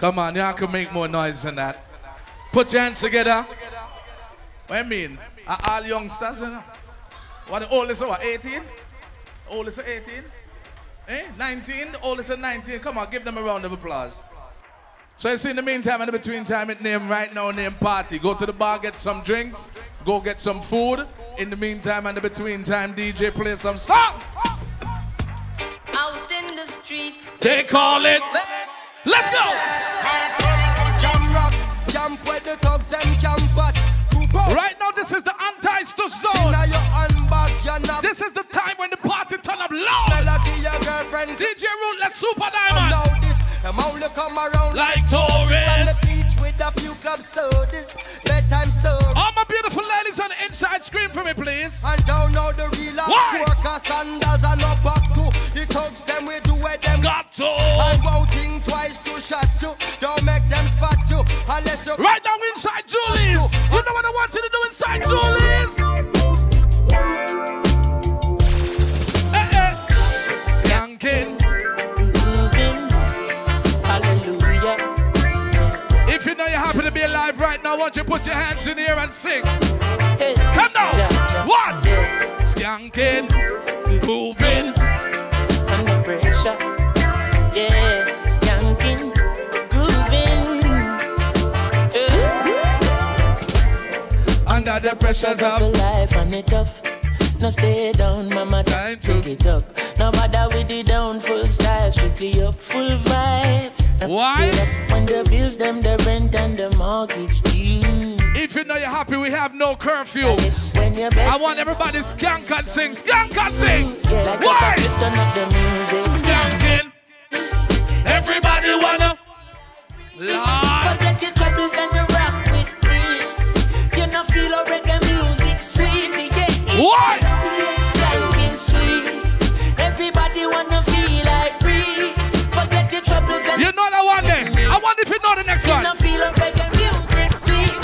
Come on, y'all can make more noise than that. Put your hands together. What I mean? Are all youngsters, you know? What the oldest are what, 18? Oldest are 18? 19? The oldest are 19. Come on, give them a round of applause. So you see, in the meantime, in the between time, it name right now, name party. Go to the bar, get some drinks, go get some food. In the meantime, and the between time, DJ play some songs. Out in the streets, they call it. Let's go. Right now, this is the anti-stu zone. This is the time when the party turn up loud. DJ Ruthless Super Diamond. I'm only come around like tourists on the beach with a few club sodas, bedtime stories. All my beautiful ladies on the inside, scream for me, please. And don't know the real worker sandals and no back to. The thugs them we do where them got to. And won't think twice to shot to. Don't make them spot you unless you. Right now inside Julie's. You know what I want you to do inside Julie's? Skanking. If you know you're happy to be alive right now, why don't you put your hands in here and sing? Hey. Come down. One. Skanking. Moving. Under pressure. Yeah. Skanking. Grooving. Under the pressures of life and it tough. No stay down, mama. Time to get up. No bother with the down, full style, strictly up, full vibes. Why? When the bills, them, the rent and the mortgage due. If you know you're happy, we have no curfew. I want everybody skank and sing. Skank and sing. Yeah, like why? Turn up the music. Skanking. Everybody wanna. Lord. Forget your troubles and you rock with me. You know feel a reggae music sweet. Yeah. Why? Skanking sweet. Everybody wanna feel like free. Forget your troubles and you know that one then. I wonder if you know the next one. You know feel a reggae music sweet.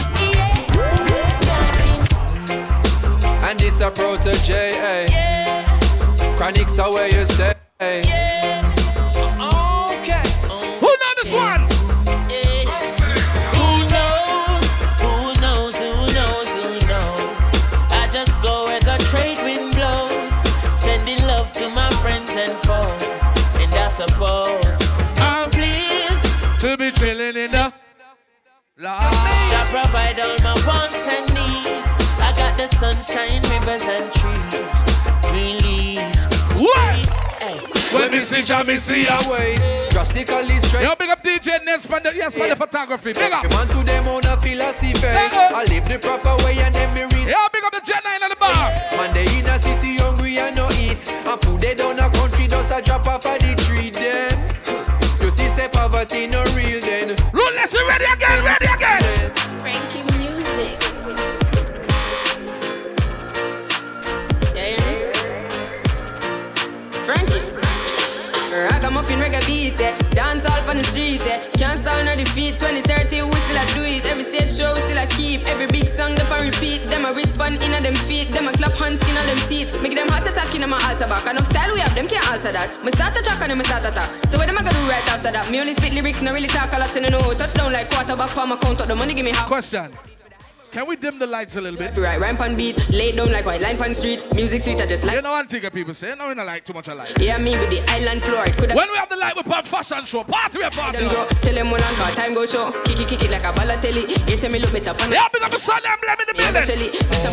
And it's a protege, Yeah. Chronics are where you say. Yeah. Okay. Who know this one? Yeah. Who knows? Who knows? Who knows? Who knows? I just go where the trade wind blows, sending love to my friends and foes. And I suppose I'm pleased to be chilling in the Lord. to provide all my wants and needs. I got the sunshine, rivers and trees, green leaves. What? Hey. When me see Jah, me see a way. Drastically straight. Yo, big up DJ Ness for the, yes, for the photography. Big up. Man to them on a philosophy. I live the proper way and then me read. Yo, big up the Gen 9 on the bar. Man, they in a city hungry and no eat. And food they down a country just a drop off of the tree then. You see say poverty no real then. Ruthless, you ready again, ready again. Frankie music. Frankie. Ragamuffin reggae beat, dance all on the street, can't stall nor defeat. 2030 we still a do it, every stage show we still a keep. Every big song them a repeat, them a respond in a them feet, them a clap hands in a them teeth. Make them heart attack in a my altar back, enough style we have, them can't alter that. Me start a track and them start attack, so what them a gonna do right after that? Me only spit lyrics, no really talk a lot and I know. Touchdown like quarterback, palm account up the money give me half. Question. Can we dim the lights a little bit? Right, rhyme pan beat, lay down like white line pan street. Music sweet, I just like. You know one thing that people say, no, we don't like too much of light. Yeah, me with the island floor. When we have the light, we put fashion show. Party, we have party. Tell them when I'm time go show. Kick it like a ballatelli. You say me look better. Yeah, big up the sun emblem in the building.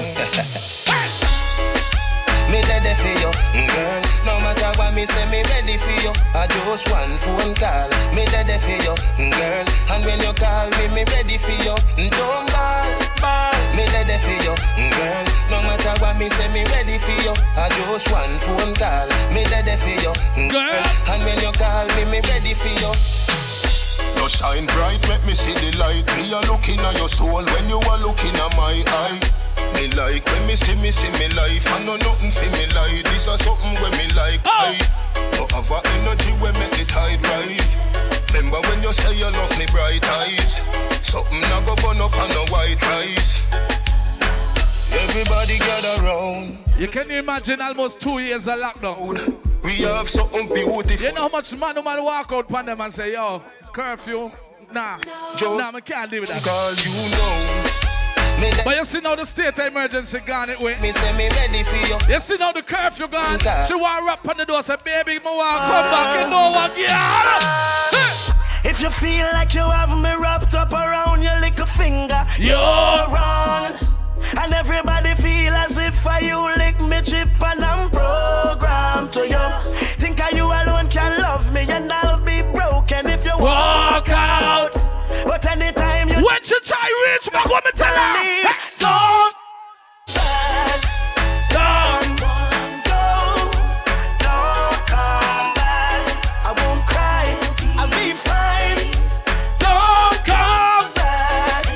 Me ready for you, girl. No matter what me say, me ready for you. I just one phone call. Me ready for you, girl. And when you call me, me ready for you. Don't ball. Me ready for you, girl. No matter what me say, me ready for you. I just one phone call. Me ready for you, girl. And when you call me, me ready for you. You shine bright, make me see the light. Me a looking at your soul when you are looking at my eye. Me like when me see me life. I know nothing for me like. This is something when me like. I have a energy when make the tide rise. Remember when you say you love me bright eyes. Something I go burn up on the white rice. Everybody gather round. You can imagine almost 2 years of lockdown. We have something beautiful. You know how much man walk out on them and say, yo, curfew. Nah, Joe, nah, I can't live with that. Cause you know me But you see now the state of emergency gone it way. me say me ready for you. You see now the curfew gone. Okay. She want to rap on the door, say, baby, me want come back, you know what, yeah. If you feel like you have me wrapped up around your little finger, you're wrong. And everybody feel as if you lick me chip and I'm programmed to you. Think you alone can love me and I'll be broken if you walk out. But anytime you when you try reach back, what me tell her? don't back, don't go, don't come back. I won't cry, I'll be fine. Don't come. Back.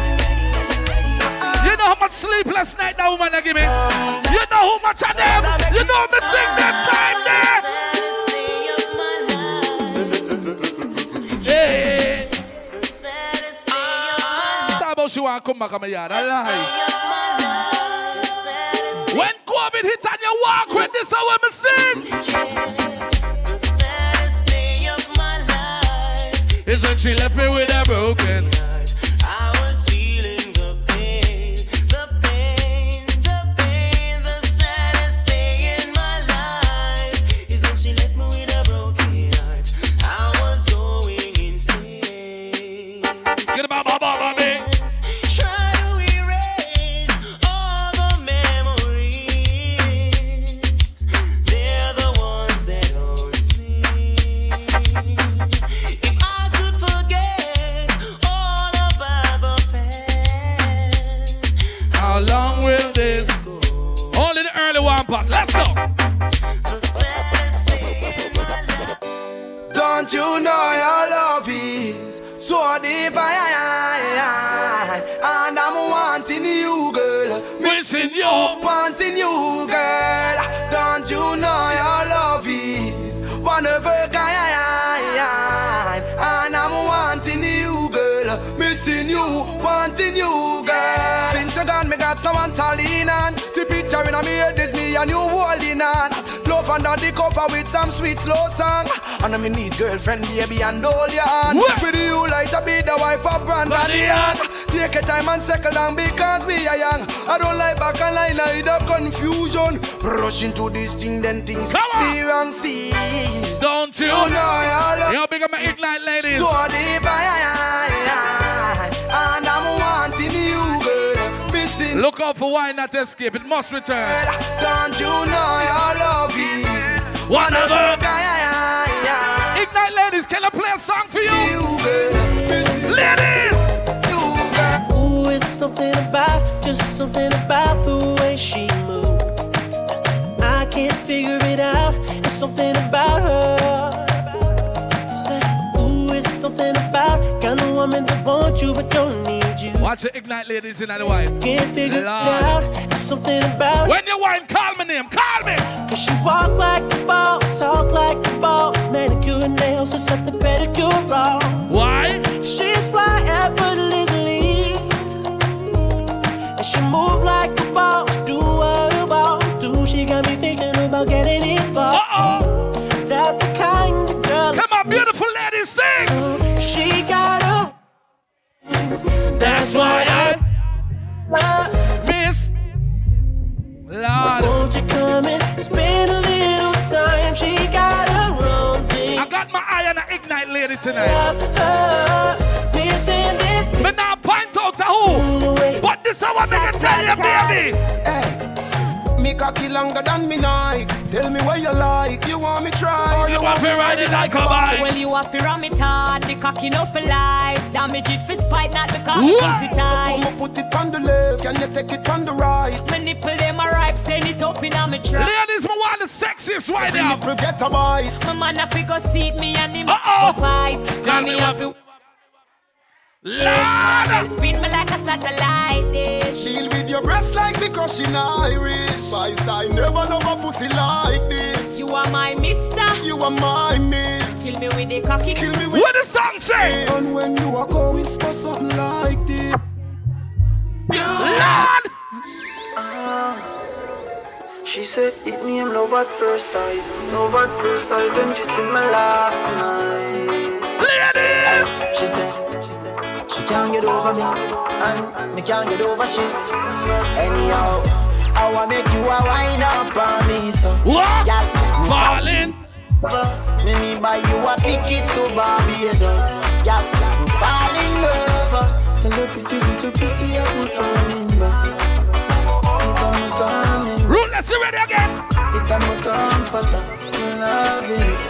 You know how much sleepless night that woman a give me? You know how much of them? You know me sing that time there? Hey. Talk about she want to come back on my yard. I lie. When COVID hit and you walk with this, how we sing? Is when she left me with a broken heart. I was feeling the pain, the pain, the pain. The saddest day in my life is when she left me with a broken heart. I was going insane. Get about my mama, me. Try to erase all the memories. They're the ones that haunt me. If I could forget all about the past, How long will this go? Only the early one part. Let's go. the saddest day in my life. Don't you know your love is so deep, and I'm wanting you, girl. Wishing you. Wanting you, girl. Don't you know your love is one of a kind, and I'm wanting you, girl. Missing you, wanting you, girl. Since you gone, me got no one to lean on. The picture in my head is me and you holding on. Love under the cover with some sweet slow song. And I'm in his girlfriend, baby, and hold your hand. With you like to be the wife of Brandon Young. Take your time and settle down because we are young. I don't like back and line, I the confusion. Rush into this thing, then things be wrong still. Don't you? You know your love. Yo, big up my Ignite ladies. So deep, and I'm wanting you, girl. Missing. Look out for why not escape. It must return. Don't you know your love is One of a kind. Ignite ladies, can I play a song for you? You, girl. Missing. Ladies! You, girl. Ooh, it's something about, just something about the way she moves. I can't figure it out. It's something about her. Say, ooh, it's something about kind of woman that wants you but don't need you. Watch the Ignite ladies in the wine. Can't figure it Lord. out. It's something about When you wine, call my name. Call me. cause she walk like a boss, talk like a boss, manicure and nails, just set the pedicure wrong. Why? She's fly effortlessly, and she move like a boss, do what a boss do. She got me thinking about getting involved. Uh-oh. That's the kind of girl. Come on, beautiful ladies, sing. She got a. That's why I miss. Lord. Won't you come and spend a little time? She got her own thing. I got my eye on the Ignite lady tonight. Missing it. But now point out to who. But this is what me gonna tell you, baby. Hey, me cocky longer than me Nike. Tell me what you like, you want me try. Or You want to ride it like a bike. Well, you have to ram it hard, the cocky no for life. Damage it for spite, not because What? it's easy So tight. come put it on the left, can you take it on the right? My nipple them a ripe, send it up in a me trap. Ladies, me want the sexiest right now. Forget a bite. My man have to go seat me and him Uh-oh. go fight. Can Cause we me have to Lord. spin me like a satellite dish. Deal with your breast like because she Irish. Spice, I never love a pussy like this. You are my mister. You are my miss. Kill me with the cocky. Kill me with What the song say? and when you walk out, whisper something like this. Lord. She said, hit me, I'm love at first sight. Love at first sight, when she see me last night. Ladies. She can't get over me, and me can't get over she. Anyhow, I wanna make you a wind up on me, so. What? Yeah, falling. Me buy you a ticket to Barbados. Yeah, I'm falling in love. The little pussy I put on in back. Ruthless, you ready again? It's a comforter, loving it.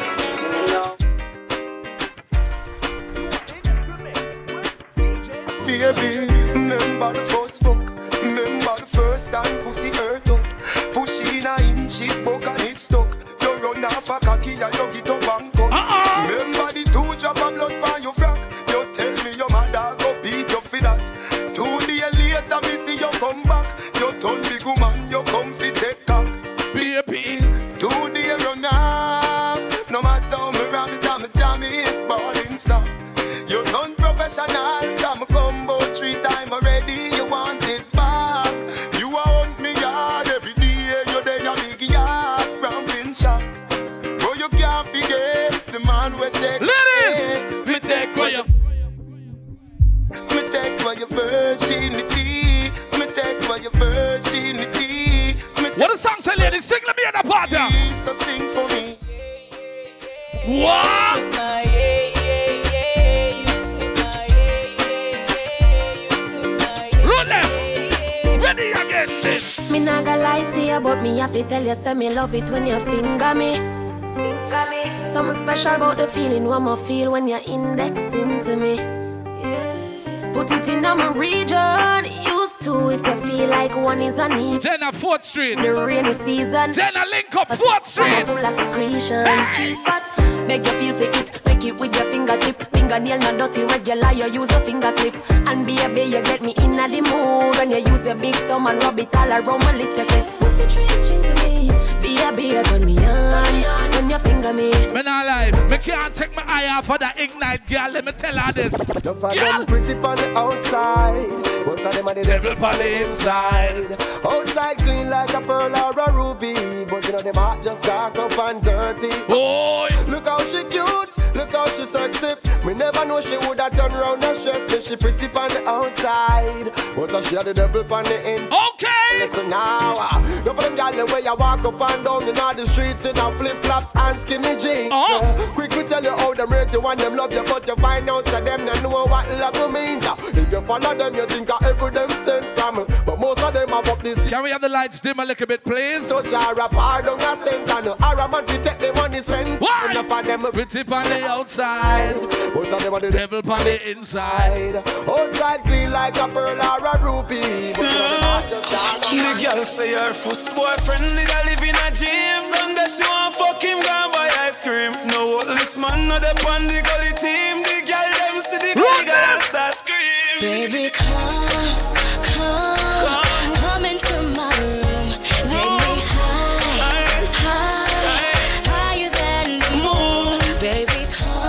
Baby, remember the first fuck. Remember the first time pussy hurt up. Push in a inch, it broke and it stuck. You run off a cocky and you get up and cut. Remember the 2 drop of blood by your frack. You tell me your mother go beat you for that. 2 days later, me see you come back. You turn big woman, you come fi take cock. Baby, 2 days run off. No matter how me ram it, I'm a jam it, balling stop. You done professional, come combo 3 times already. You want it back. You want me yard every day. You there a big yard, rambling shop. But you can't forget the man with take. ladies, Me take for you. Me take for your virginity. Me take for your virginity. what the song say, ladies? Sing let me at the party. So sing for me. What? Ruthless, ready again then. Me nah gonna lie to you, but me have to tell you, say me love it when you finger me. Something special about the feeling one more feel when you're indexing to me. Put it in my region, used to if you feel like one is on need. Jenna 4th Street. The rainy season. Jenna link up 4th Street. Full of secretion. Cheese pot, beg you feel for it. Take it with your fingertip. Fingernail not dirty, regular, you use a finger clip. And baby, you get me in the mood when you use your big thumb and rub it all around my little clip. Put the trench into me. Baby, turn me on when you finger me. Me not lie, me can't take my eye off of that Ignite girl. Let me tell her this. No for them pretty on the outside, most of them are the devil on the inside. Outside clean like a pearl or a ruby, but you know them heart just dark up and dirty. Boy, look how she cute, look how she sexy. Me never know she woulda turn round and stress me. She pretty on the outside, but she had the devil on the inside. Okay. Listen now, no for them gyal the way you walk up and down in all the streets in a flip flops and skinny jeans. Quick to tell you how them rate you and them love you, but you find out that them don't know what love means. If you follow them, you think of every them sent from, but most of them have up this. Can we have the lights dim a little bit, please? So Jara pardon a cent and a man to take the money spent. Why? Enough of them pretty on the outside, most of them are the devil on the inside. Outside clean like a pearl or a ruby, but the girl say her first boyfriend did a live in a gym. Someday she want fuck him, go and buy ice cream. No this man, no the on the gully team. The girl them see the gully girl start scream. Baby, come into my room. Take me higher than the moon. Baby,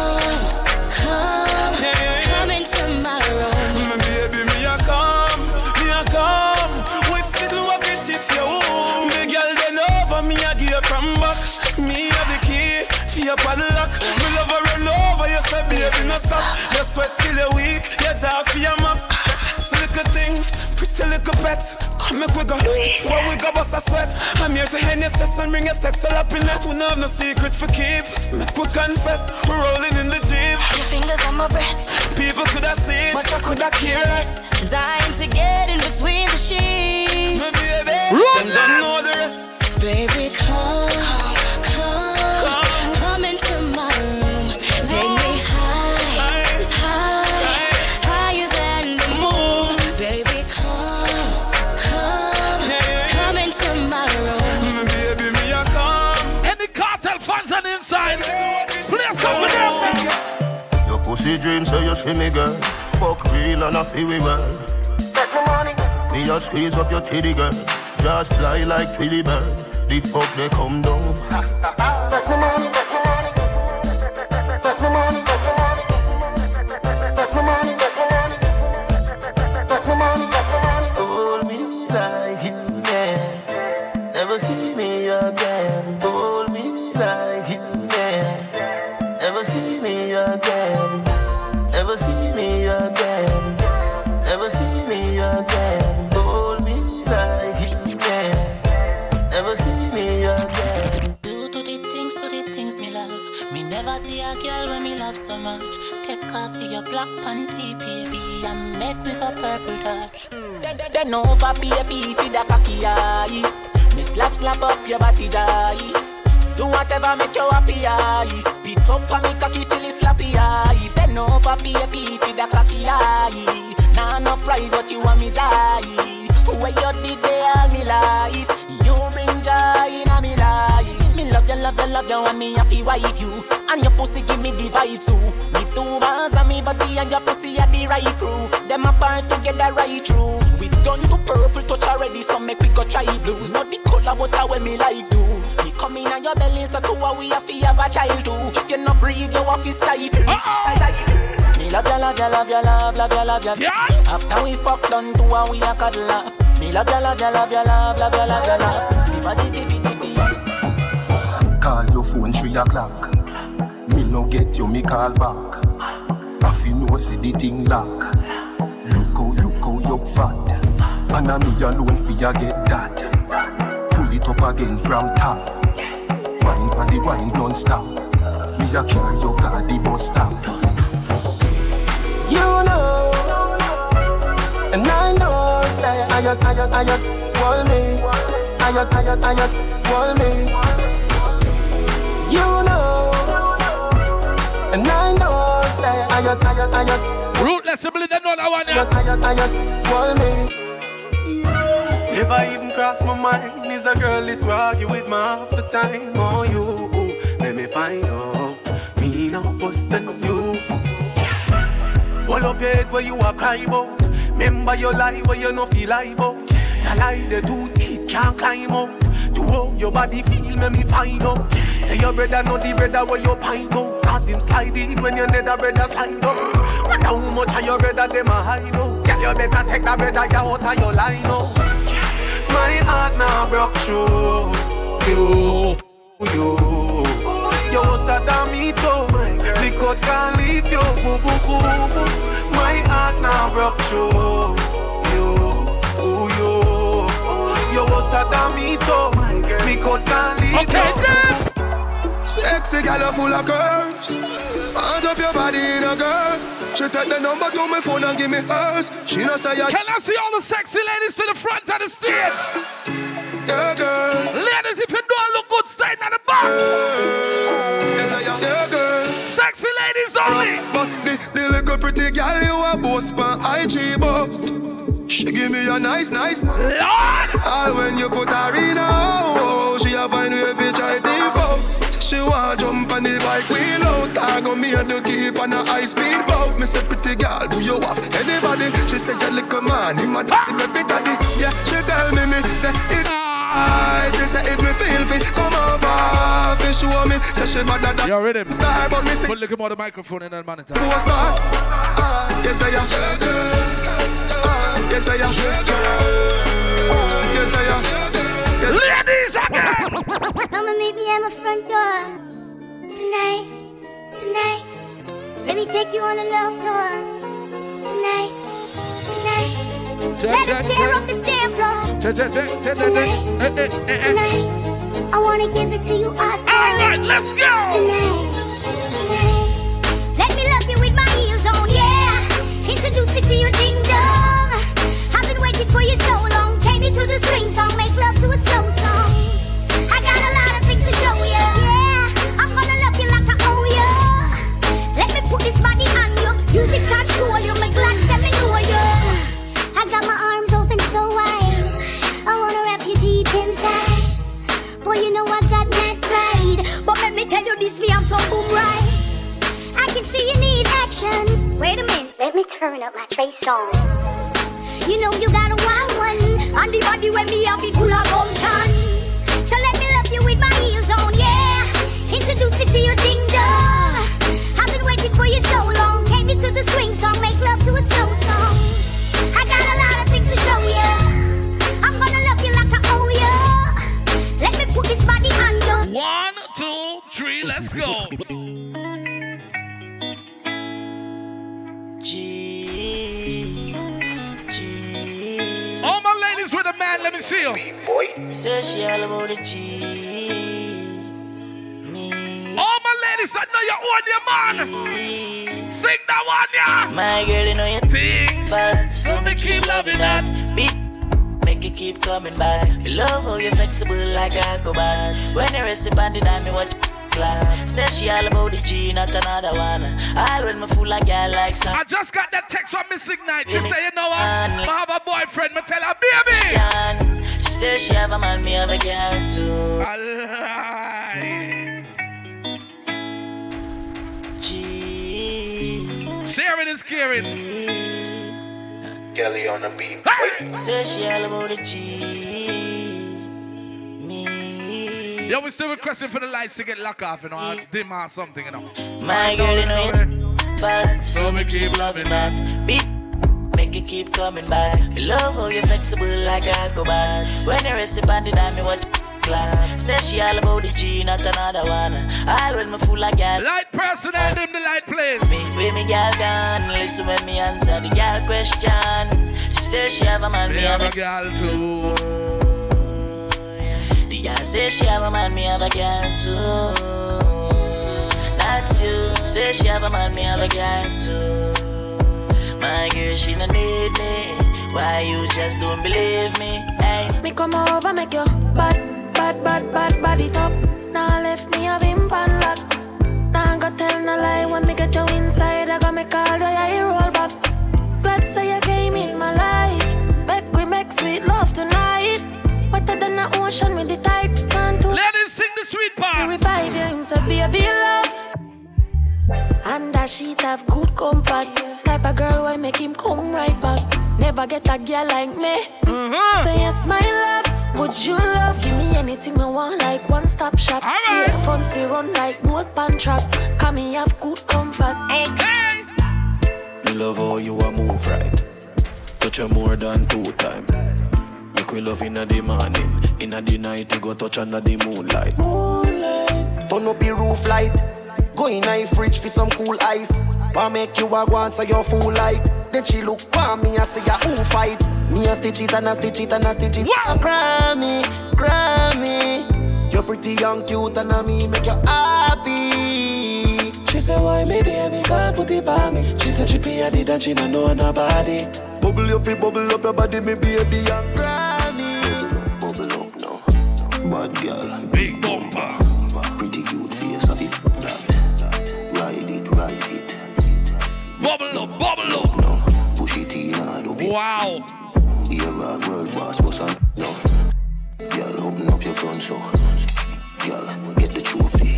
come into my room. Baby, me a come. With sitting what fish it for you. The girl bend over, me a give from back. Me have the key for your padlock. Me love her run over, you say baby no stop. You sweat till you're weak, you jaw for your map. Sexy little thing, pretty little pet. Come make we go, where we go bust a sweat. I'm here to end your stress and bring your sexual happiness. We don't have no secret for keep, make we confess. We're rolling in the Jeep. Your fingers on my breast. People could have seen, but I could have cared less. Dying to get in between the sheets. My baby, them don't know the rest. Baby, come into my room. Take me higher than the moon. Baby, come into my room. Baby, me a come. Any cartel fans on the inside, play some with them. Your pussy dreams so you see me girl. Fuck real and I feel we well. Me just squeeze up your titty girl. Just fly like Tweety bird. The fuck they come down. Back my money, back my money. Back my money, back my money. Back my money, back my money. Back my money, back my money. Hold me like you can. Never see me again. Hold me like you can. Never see me again. Never see me again. go match. Take off your black panty, baby, and make me go purple touch. Then over, baby, feed the cocky eye. Me slap up your body jai. Do whatever make you happy eye. Spit up on me cocky till it's slappy eye. Then over, baby, feed the cocky eye. Nah, no pride, what you want me die. Where you did they all me life. You bring joy in a me life. Me love you, and me a fi wife you. And your pussy give me the vibe too. Me two bands and me body and your pussy are the right crew. Them apart together right through. We done to purple touch already, so make we go try blues. Not the color but how me like do. Me come in on your belly, so two we a fi have a child too. If you not breathe, you have to stifle. Me love you. After we fuck done, two and we a cuddle. Me love you. Me body tiffy. Call your phone 3 o'clock. Me no get you, me call back. If you know say the thing lock. Look how you fat. And a me alone for you get that. Pull it up again from top. Wine for the wine non-stop. Me a carry your car the bus stop. You know, and I know, say, I got, hold me. I got, hold me. You know, and I know, say, I got. Rootless, I believe they know that one, yeah. Hold me. Never even cross my mind. Is a girl this argue with me half the time. Oh, you, let me find out. Me no worse than you. Hold up your head where you are cry about. Remember your lie where you no feel like about. The lie they too deep can't climb out. To how your body feel make me find out. Say your brother know the brother where you pint out. Cause him slide in when your nether brother slide out. Wonder how much of your brother them a hide out. Girl you better take that brother you out of your line out. My heart now broke through. You Saddamito. Me could can't leave you. My heart now broke through. You Saddamito. Me could can't leave you. Sexy girl full of curves. Hand up your body in a girl. She take the number to my phone and give me hers. She no say ya. Can I see all the sexy ladies to the front of the stage? Yeah, girl. Ladies, if you don't look good, stay at the back. Yeah, girl. Sexy ladies only. But the little pretty girl you a boss pan IG but she give me a nice Lord. All when you put her in a she a find way fi try default. She want jump on the bike wheel out. I go me to keep on a high speed boat. Me say pretty girl, do you have anybody? She say you little man, him a baby daddy. Yeah, she tell me say it. She say if me feel fit, come over. She show me, say she better than you ready? Star, but me say put little more the microphone in that monitor. Yes I am. Yes I am. Yes I am. Ladies again. Come and meet me at my front door tonight. Let me take you on a love tour tonight. Let us tear up the stand floor tonight. I wanna give it to you all right, let's go. Tonight. Let me love you with my heels on, yeah. Introduce me to your ding dong. I've been waiting for you so long. Take me to the swing song, make love to a slow song. I got a lot of things to show you, yeah. I'm gonna love you like I owe you. Let me put this body on you. Music control you, make glad let me know you. I got my arms open so wide. I wanna wrap you deep inside. Boy, you know I got that pride. But let me tell you this, me I'm so boom right. I can see you need action. Wait a minute, let me turn up my Trey song. You know you got a wild one. On the body when me have it full of motion. So let me love you with my heels on, yeah. Introduce me to your ding dong. I've been waiting for you so long. Take me to the swing song, make love to a slow song. I got a lot of things to show you. I'm gonna love you like I owe you. Let me put this body on you. 1, 2, 3, let's go. All my ladies with a man, let me see you. Say she all about the G. All my ladies that that know you own your man. Sing that one, yeah. My girl, you know you think fat, so me keep loving that. Beat, make it keep coming back. You love how you're flexible like a cobalt. When you rest upon the dime, me watch clap. Say she all about the G, not another one. All when me fool like girl like some. I just got that text from Miss Ignite. She say, you know what? I have a boyfriend. Me tell her, baby. She say she have a man, me have a girl too. Sharing is caring. Kelly on the beat. Say she all about the G. Me. Yo, we still requesting for the lights to get locked off, you know, or dim or something, you know. My girl, you know you fat, so me keep loving that. Beat, make it keep coming back. You love how you're flexible like a cobalt. When you rest upon the dime, you watch clap. Say she all about the G, not another one. All when me fool like girl. Light person and them the light place. Me with me girl gone. Listen when me answer the girl question. She say she have a man, me have a girl too. The girl say she have a man, me have a girl too. That's you. Say she have a man, me have a girl too. My girl, she no need me. Why you just don't believe me? Hey. Me come over, make you bad body top. Now left me a vimp and lock. Now go tell no lie when me get you inside. I got me call you, yeah, you roll back. Glad say you came in my life. We make sweet love tonight. Wetter than the ocean with the tide. Ladies, sing the sweet part. Revive you, him say baby love. And that sheet have good comfort. Type of girl why make him come right back. Never get a girl like me. Say yes, my love. Would you love? Give me anything I want, like one-stop shop. Right. Yeah, funds we run like boat pan track. Come me have good comfort. Okay. Me love how you a move right. Touch you more than 2 times. Make we love inna the morning. Inna the night you go touch under the moonlight. Turn up the roof light. Go in a fridge for some cool ice. Why make you a go answer your full light? Then she look for me and say ya who fight. Me a stitch it and a stitch it and a stitch it. Grammy. You're pretty young, cute and a me make you happy. She said why maybe I can't put it by me. She said she pay a did and she don't know nobody. Bubble your feet, bubble up your body, me baby young Grammy. Bubble up now. Bad girl. Big bumper. Pretty cute face of it. That. Ride it. Bubble up. No. Push it in and up it. Wow. You're a world boss, what's on? No. Girl, open up your front so. Girl, get the trophy.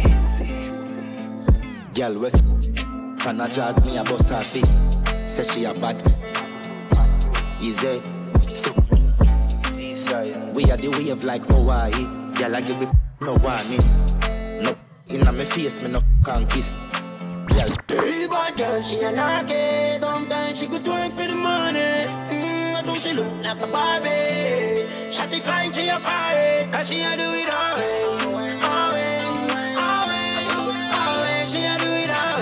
Girl, West. Can I jazz me a boss her feet? Say she a bad. Easy. So. We are the wave like Hawaii. Girl, I give me no warning. No. Inna me face, me no can't kiss. Real bad girl, she a knocky. Sometimes she could twerk for the money. I think she look like a Barbie. Shotty flying, she a fire. Cause she a do it all way. She a do it all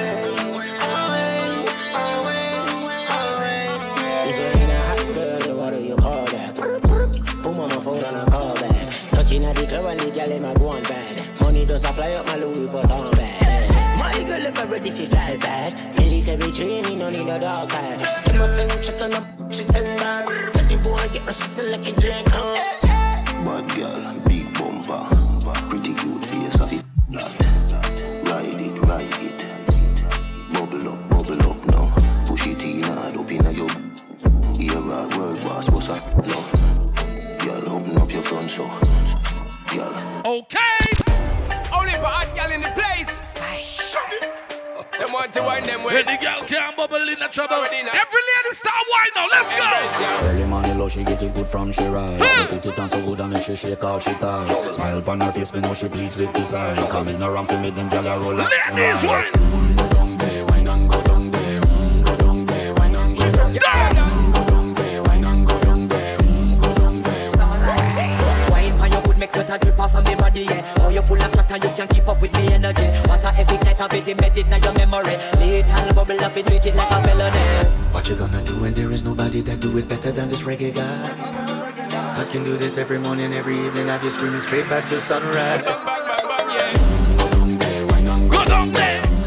way. If you're in a hot girl, then what do you call that? Put on my phone and I call back. Touching at the club and the girl in my go on bad. Money does a fly up my Louis Vuitton bag. My girl ever ready for fly back. Military training, no need no dog tag. Get my son shut on up, she send back. Tell the boy get my sister like a drink, huh? Bad girl, big bumper. Pretty cute face of it. Ride it. Bubble up now. Push it in and up inna your. You're a world boss, what's up? No. Girl, open up your front so. Girl. Okay. Only for hot girl in the place. Them want to wine them way. When the girl can't bubble in the trouble. Every lady start wine now. Let's go. Early morning low, she get it good from she rise. Put it on so good and make she shake all she ties. Smile upon her face, me know she pleased with this eyes. Coming around to make them gyal a roll up. Ladies, wine. Go down there, wine and go down there. Go down there, wine and go down there. Go down there, wine and go down there. Go down there. Wine for your good make sweat a drip off of me body, yeah. Oh, you full of chatter, you can keep up with me energy. What a epic night of it, embedded in your memory. Little bubble up, it treat it like a felony. What you gonna do when there is nobody that do it better than this reggae guy? I can do this every morning, every evening. Have you screaming straight back to sunrise. Go down there.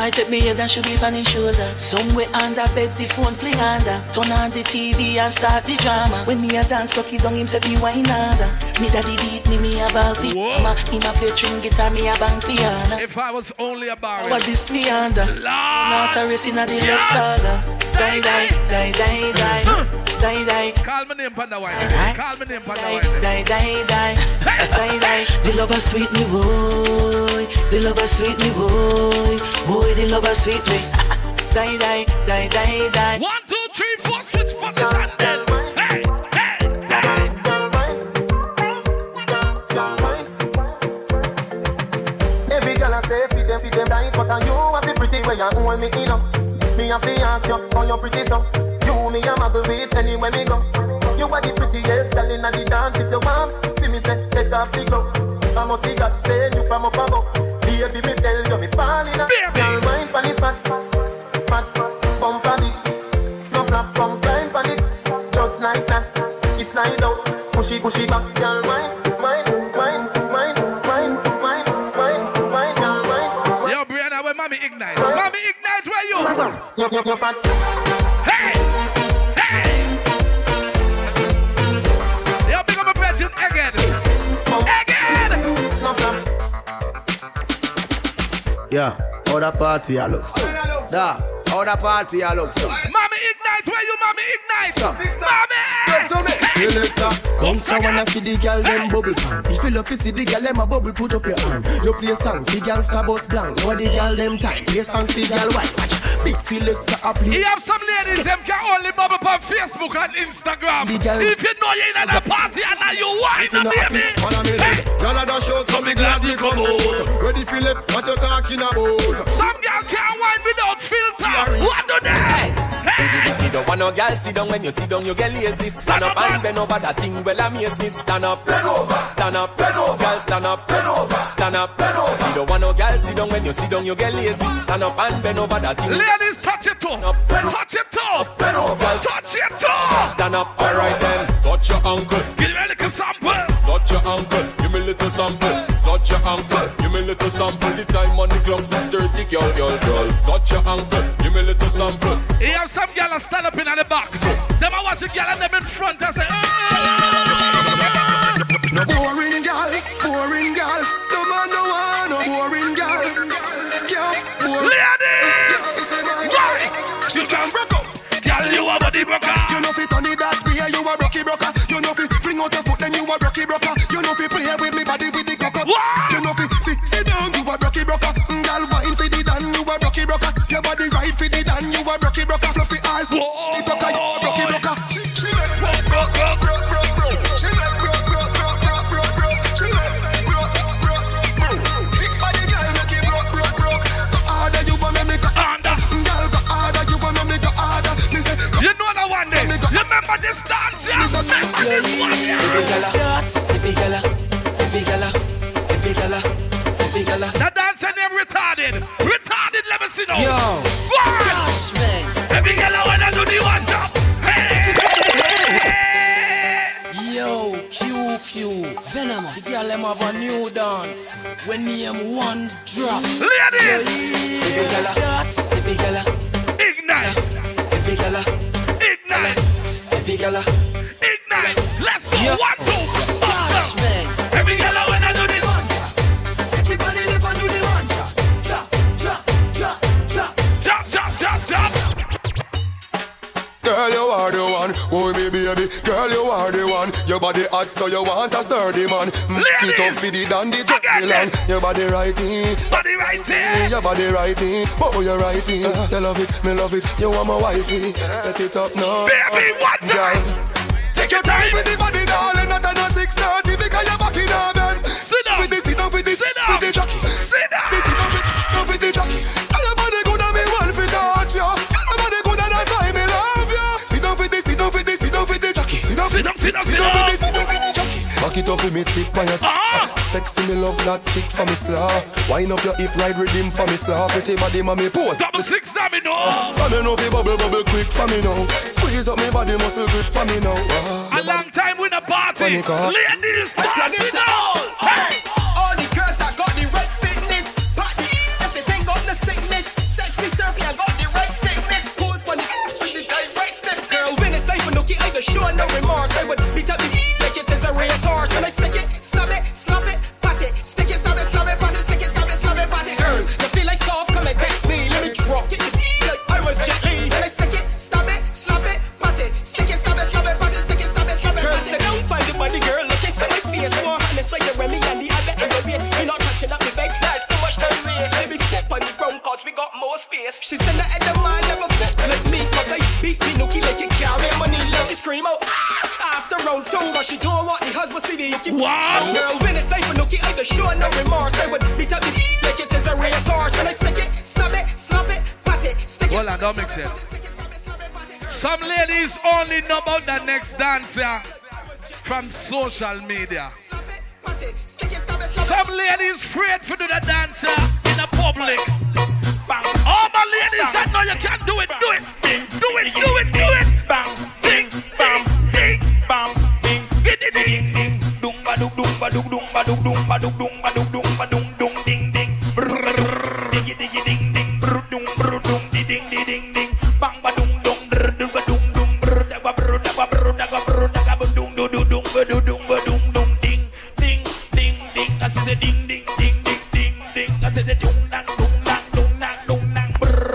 Boy take me head and should be on his shoulder. Somewhere under bed the phone fling under. Turn on the TV and start the drama. When me a dance cocky down him say be wine under. Me daddy beat me a ball fi mama. Him a play string guitar, me a bang piano. If I was only a bar. What this me under? Not a race in a the love saga. Die die die die die. Die die. Call my name on the wine. Call my name on the wine. Die die die die die. The lover sweet me boy. The lover sweet me boy. Boy the lover sweet me. Die die die die die. 1, 2, 3, 4, switch position then. Hey hey hey. Every girl I say fit them right, but you have the pretty way you hold me in up. Me a fi ask you how you pretty so. You me a muggle with anywhere me go. You are the prettiest girl inna the dance. If you want, fi me say take off the glove. I must see God send you from up above. Baby me tell you me fall in a. Girl mind pon this fat, bump on it. No flap, bump blind pon it. Just like that, it's slide out. Push it back, girl mind. Yo Brianna, where mommy ignite? Mommy ignite, where you? You're fat. Hey! Hey! Yo, big up a brethren again. Again! Yeah, how the party I look so. Da, how the party I look so. Mommy ignite, where you mommy ignite? Mommy! Selector, bounce a wanna feed the girl them bubble pan. If you love to see the girl them a bubble, put up your hand. You play song, the girl star bus blank. What the girl them time, play song, the girl white. Big selector a play. You have some ladies them can only bubble on Facebook and Instagram. If you know you're in a party and now you whine, baby. Follow me then. Y'all are the show, so me glad me come out. Ready Philip, what you talking about? Some girl can't whine without filter. What do they? You don't want no girl sit down when you sit down, you get lazy. Stand up and bend over that thing. Well, amaze me. Stand up, bend over, stand up, bend over. Girl, stand up, bend over, stand up, bend over. You don't want no girl sit down when you sit down, you get lazy. Stand up and bend over that thing. Ladies, touch it toe, touch it toe, bend over, touch it toe. Stand up, alright then. Touch your ankle, give me a little sample. Touch your ankle, give me a little sample. Touch your ankle, give me a little sample. The time on the clock 6:30, girl. Touch your ankle, give me a little sample. You have some girl that stand up in the back. Them I watch the girl and them in front and say, no boring girl. No man no one, no boring girl. Ladies, she can broke up. Girl, you a body broker. You know fi turn it that way, you a rocky broker. You know fi fling out your foot, then you a rocky broker. You know fi play with me body with the cock up. You know fi sit down, you a rocky broker. Girl wine fi the dan, you a rocky broker. Your body right fi the dan, you a rocky broker. Fluffy eyes, the broker, you a rocky broker. She broke. She broke. She broke. Big body girl make it broke. Harder you wanna make it harder. Girl go harder, you wanna make it harder. You know that one day. Remember this dance, yeah? Remember this one, yeah? Every gala. That dancer name retarded. Retarded, let me see now. Yo, Stash, man. Every gala wanna do the one top. Hey. Yo, QQ, Venomous. The girl them have a new dance. When name one drop. Ladies. Every gala. Ignite. Every gala. Ignite. Every gala. Ignite. Let's go. Yo. 1, 2. Stash, man. Every gala wanna do the one. Everybody live and do the one drop. Drop. Girl, you are the one, oh me baby. Girl, you are the one. Your body hot, so you want a sturdy man. It up for the dandy, Milan. Your body righty, your body righty. Oh, you're righty. You love it, me love it. You want my wifey? Set it up now, baby. What time? Take your time with the body, darling. Not on 6:30 because you're back in our bed. Sit down. Sit the jockey. Sit down. Sit down with the jockey. Your body good and me want to touch you. Your body good and that's why me love you. Sit down with the jockey. Sit down with the jockey. Back it up with me tip on your sexy me love that tick for me slaw. Wind up your hip, ride rhythm for me slaw. Pretty body mommy pose. 6 domino. For me know fi bubble quick for me now. Squeeze up me body muscle grip for me now. A long time with a party. Ladies, party now. Hey. All the girls that got the right fitness. Party, everything got the sickness. European got the right thickness. Pose for the direct step. Girl, when it's time for Nookie, I go show no remorse. I would beat up the like it is a racehorse. When I stick it, stab it, slap it, pat it. Stick it, stab it, slap it, pat it. Stick it, stab it, slap it, pat it. Girl, you feel like soft, come and test me. Let me drop it like I was Jet Li. When I stick it, stab it, slap it, pat it. Stick it, stab it, slap it, pat it. Stick it, stab it, slap it, pat it. Girl, sit down by the body, girl. Look at my face. More hand inside your Remy and the other in your waist. You're not touching up the bag. That's too much time waste. Baby, flip on the ground, cause we got more space. She said that the man never fuck like me, cause I beat me Nookie like you carry money. Let she scream out after round two, cause she don't want the husband see the Yuki. Wow. Girl, when it's time for Nookie, I go show no remorse. I would beat up the like it is a racehorse. When I stick it, stab it, slap it, pat it, stick it. Well, I don't make sense. Some ladies only know about the next dancer from social media. Some ladies afraid to do the dancer in the public. All my ladies that know you can do it, do it, do it, do it, do it. Bang, ding, bang, ding, bang, ding, ding, ding, ding, ding, ba dum dum ba dum dum ba dum dum ba dum dum ba dum dum ba dum dum ding ding, diggy diggy ding ding, dum dum ding ding ding ding, bang ba dum dum dum ba dum dum da ba da ba da ba dum dum dum ba dum ba dum dum ding ding ding ding, I say ding ding ding ding ding ding, I say dum dang dum dang dum dang dum dang,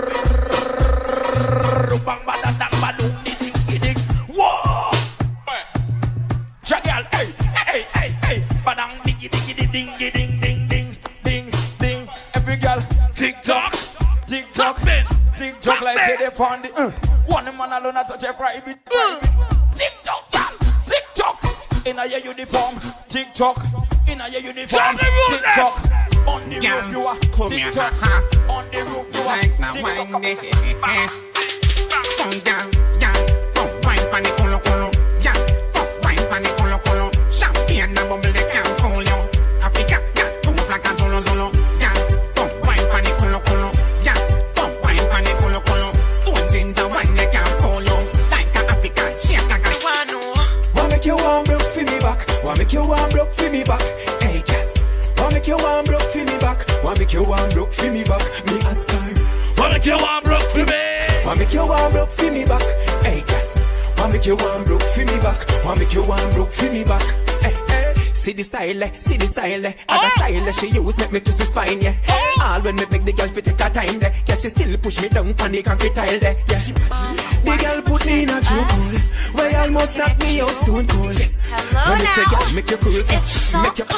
bang ba da dang ba dum ding ding ding. Whoa! Jagal, hey hey hey hey, ba dang diggy diggy ding ding ding ding ding ding ding. Every girl TikTok, TikTok, TikTok like they found it. One man alone a touch a private. TikTok, girl, TikTok. In a your uniform, TikTok. In a your uniform, TikTok. On the roof you are TikTok. On the roof you are TikTok. Come down, down, come wine pan the colo colo, yeah, come wine pan the colo colo. Champagne and bubble they can't fool you. Africa, yeah, come up like a solo solo, yeah, come wine pan the colo colo, yeah, come wine pan the colo colo. Stone ginger wine they can't fool you. Like a African, shake like a Wanna make you warm broke for me back? Wanna make you warm broke for me back? Hey girl, wanna make you warm broke for me back? Wanna make you warm broke for me back? Me ask her. Wanna make you warm broke for me? Wanna make you warm broke for me back? Hey girl, wanna make you warm broke for me back? Wanna make you warm broke for me back? Hey, hey. See the style, see the style, other style she use make me twist my spine, yeah. All when me make the girl fit take her time, there. Yeah, she still push me down on the concrete tile, there. Yeah, the girl put me in a chokehold, where you almost knock me out stone cold. When me say girl, make you cool, make you.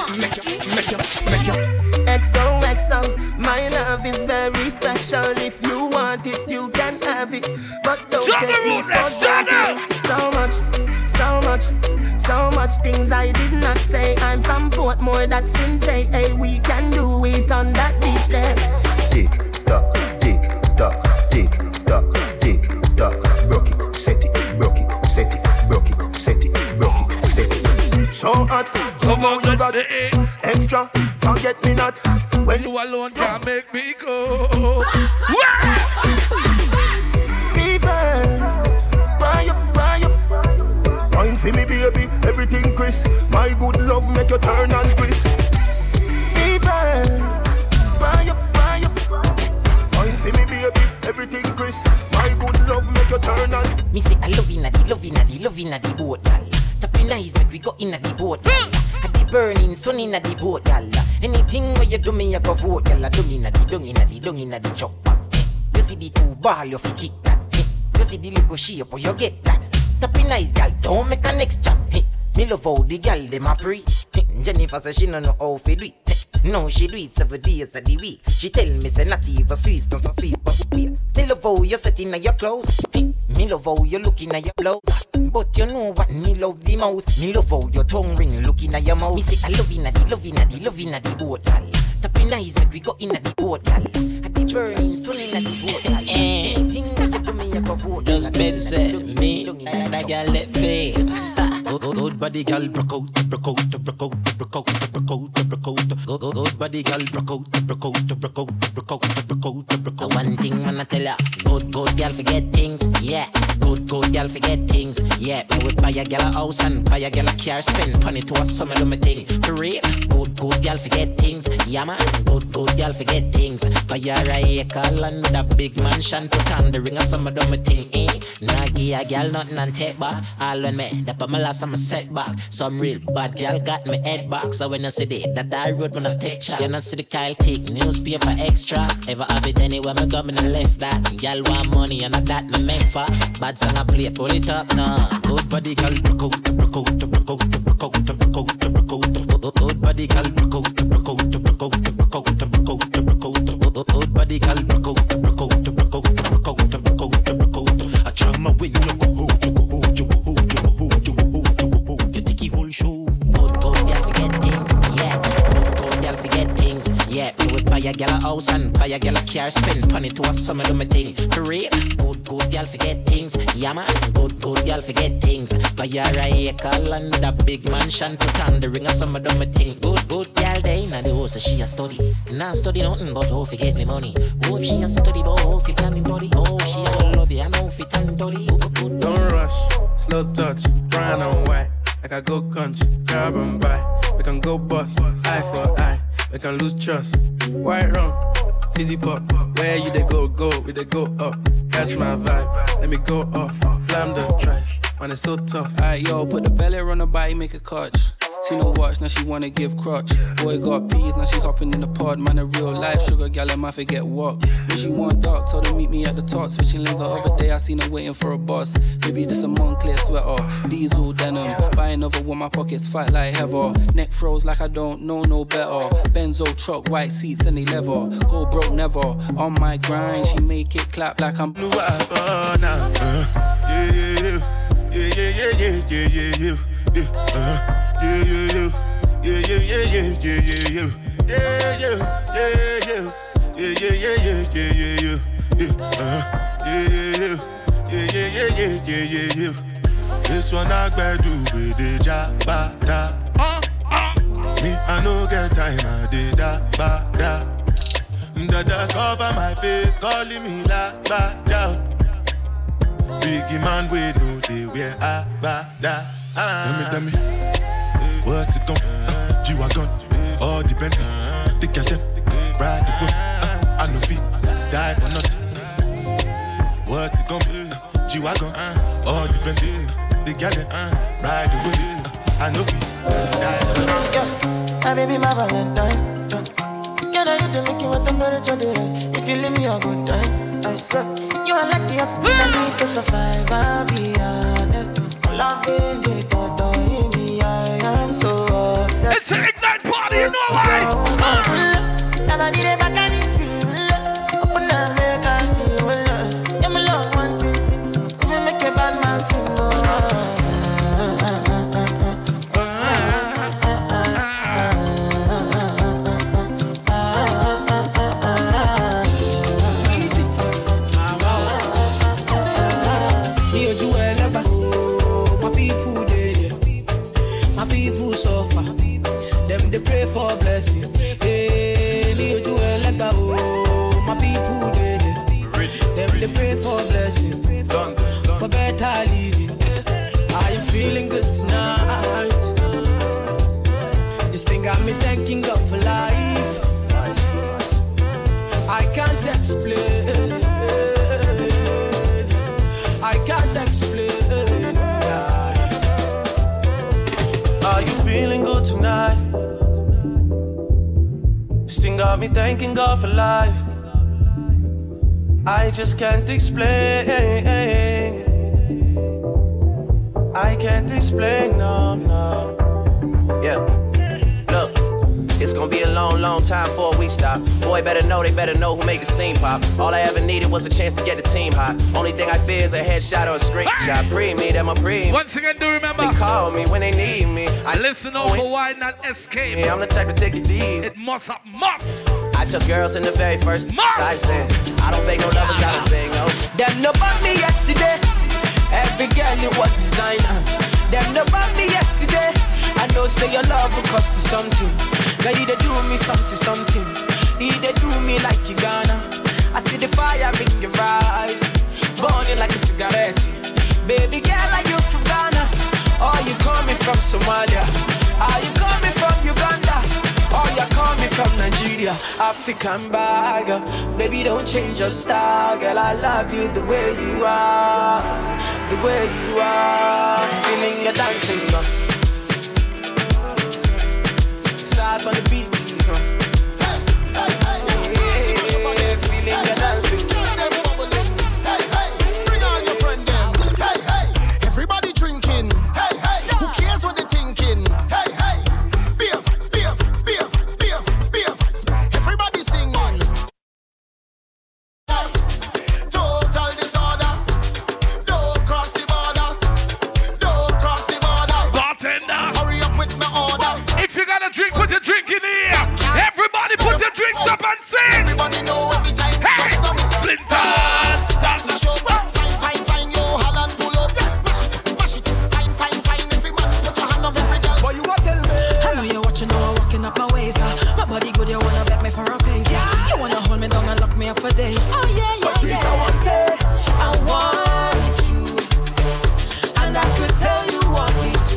XOXO, my love is very special. If you want it, you can have it. But don't get me so dirty. So much things I did not say. I'm from Portmore, that's in J.A. We can do it on that beach there. Tick tock, tick tock, tick tock, tick tock. Broke it, set it, broke it, set it, broke it, set it, broke it, set it. So hot, somehow you got extra. Forget me not when you alone can't make me go. Fever, buy up. Wine for me baby, everything crisp. My good love make you turn and crisp. Fever, buy up. Wine for me baby, everything crisp. My good love make you turn and. Me say I love inna the boat, y'all. Tapping eyes make we go inna the boat, y'all. Had the burning sun inna the boat, y'all. Anything where you do me, I go vote, y'all. Dung inna the chopper. You see the two ball, you fi kick that. You see the little shape, where you get that. Tapping eyes, gal, don't make a next chat. Me love how the gal dem a pre. Jennifer say she no know how fi do it. No, she do it 7 days of the week. She tell me say not even Swiss, not so Swiss, but wait. Me love how you set in your clothes. Me love how you looking at your blouse. But you know what me love the most. Me love how your tongue ring looking at your mouth. Me say I love inna the boat, gal. Tapping eyes make we go inna the boat, gal. At the burning sun inna the boat, gal. Anything that you do me, I go vote. Just bed set me, that gal let face. Good body gal broke out. Good body gal broke out. One thing, man, I tell ya. Good girl forget things, yeah. Good girl forget things, yeah. Me would buy a girl a house and buy a girl a car, spend money to a summer do me thing. For real, good girl forget things, yeah man. Good girl forget things. Buy her a acre land with a big mansion, put on the ring of summer do me thing, eh. Nah give a girl nothing and take back. All when me, that put my last I'm a setback. Some real bad girl got me head back. So when I see that road when I take shot, you know see the Kyle take newspaper extra. Ever have it anywhere me go me no left that. Girl want money and that me make for. Bad song I play, pull it up now. Good body girl, broke out. Good body girl, broke out. Good body girl, broke out. I try my way, you go hold, you think he whole show. Good girl forget things, yeah. Good girl forget things, yeah. We would buy a girl a house and buy a girl a car, spend money to a summer do me thing. For real, good girl forget things, yeah man. Good girl forget things. Buy her a acre land with a big mansion, put on the ring of summer do me thing. Good girl day now the house she a study. Not study nothing but how fi get me money. Hope she a study but how fi planning body. Oh she a love you and how fi planning body. Don't rush, slow touch, brown and white. Like I go country, grab and buy. We can go bust, eye for eye. We can lose trust. White rum, fizzy pop. Where you they go, we they go up. Catch my vibe, let me go off. Blam the trash, man it's so tough. Alright yo, put the belly on her body, make a catch. See no watch, now she wanna give crutch. Boy got peas, now she hopping in the pod. Man a real life sugar gal, I might forget walk. When she want dark, told her meet me at the top. Switching lanes the other day, I seen her waiting for a bus. Maybe this a Moncler sweater, diesel denim. Buy another one, my pockets fight like heather. Neck froze like I don't know no better. Benzo truck, white seats and they leather. Go broke never, on my grind. She make it clap like I'm blue. This one I better do with the jabata. Me I no get time I did that bada. Dada cover my face, calling me la bada. Biggie man we know they wear a bada. Tell me, what's it gon' G-Wagon, all depend. The girl them, ride the whip. I no fit, die for nothing. What's it gon' G-Wagon, all depend. The girl them, ride the whip. I no fit, die for nothing. My baby, my Valentine. Can I hit the making with temperature days? If you leave me a good time, I swear. You are like the oxygen I need to survive, I'll be honest. Loving the thought of me, I am so obsessed. It's an Ignite party, you know why? Never did it back and it's real. Open up, make us feel love. Yeah, my love one thing. We make a bad man sing. They pray for blessing. Hey, you do it like that. Oh, my people did it. They pray for blessing, for better living. Are you feeling good tonight? This thing got me thanking God for life. I can't explain. I can't explain. Are you feeling good tonight? Got me thanking God for life. I just can't explain. I can't explain, no. Yeah, look, it's gonna be a long time before we stop. Boy, they better know who make the scene pop. All I ever needed was a chance to get the team hot. Only thing I fear is a headshot or a screenshot. Pre me, that my pre. Once again, do remember. They call me when they need me. I listen over why not escape. Yeah, I'm the type to take it these. It must. I took girls in the very first I said, I don't beg no lovers, I don't beg no. Them no bought me yesterday. Every girl you was designer. Them no bought me yesterday. I know say your love will cost you something. Now you they do me something. You they do me like you gonna. I see the fire in your eyes, burning like a cigarette. Baby girl, are you from Ghana? Or you coming from Somalia? Are you coming from Uganda? Or you coming from Nigeria? African bag, baby, don't change your style, girl. I love you the way you are, the way you are. Feeling your dancing, stars on the beat, feeling your dancing. Bring all your friends them. Everybody drinking. Who cares what they thinking? Beer facts, beer facts, beer facts, beer facts, beer facts. Everybody singing. Total disorder. Don't cross the border. Don't cross the border. Bartender, hurry up with my order. if you got a drink, put your drink in here. Everybody put your drinks up and sing. Everybody know every time. Hey, Splinters. That's my show. Fine, fine, fine, yo, Holland pull up. Mash it, fine, fine, fine. Every man put your hand on every girl. Boy, you what tell me? I know you're watching, now I'm walking up my ways. My body good, you wanna bet me for a pace. You wanna hold me down and lock me up for days. Oh yeah, yeah, Patrice, yeah. I want it. I want you, and I could tell you want me to.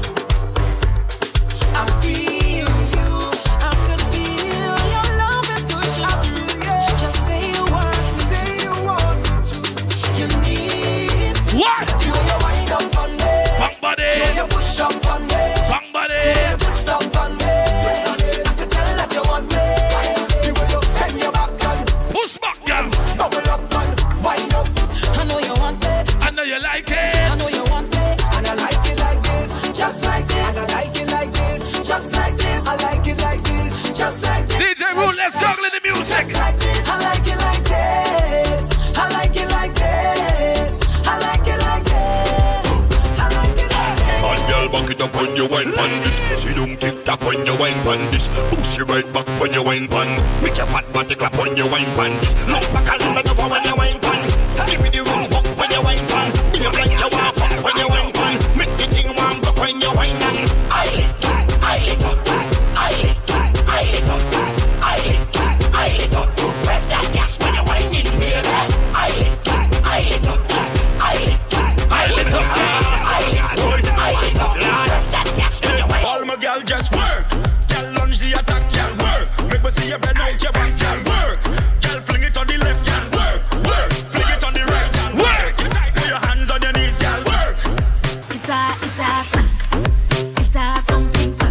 I feel you, I could feel your love and push. I feel you. Just say you want me, say you want me to. You need to. What? You wind up on me, Bang body. you push up on me, Bang body. you twist up on me. I could tell that you want me. You will bend your back and push back, girl. bubble up and wind up. I know you want it. I know you like it. I know you want it. And I like it like this, just like this. And I like it like this, just like this. I like it like this, just like this. DJ Rule, let's juggle in the music. Just like this. I like it like this. I like it like this. I like it like this. I like it like this. And girl, back it up when you wine pan this. See don't tick tock when you wine pan this. Push you right back when you wine pan. Make your fat body clap when you wine pan this. Look back and look over when you wine pan. Give me the room walk when you wine pan. Be a like you want fuck when you wine pan. Make the thing warm up when you wine pan. I lick up, I lick up, I lick up, I lick up, I lick up, I lick up. Press that gas when you wine in baby. I lick up, I lick up, I lick up, I lick up, I lick up, I lick up. Press that gas when you wine. All my girl just work. Girl lunge the attack, girl work. Make me see you bend out your back, girl work. Girl fling it on the left, girl work, work. Fling it on the right, girl work. Put your hands on your knees, girl work. It's a snack. It's a something fun.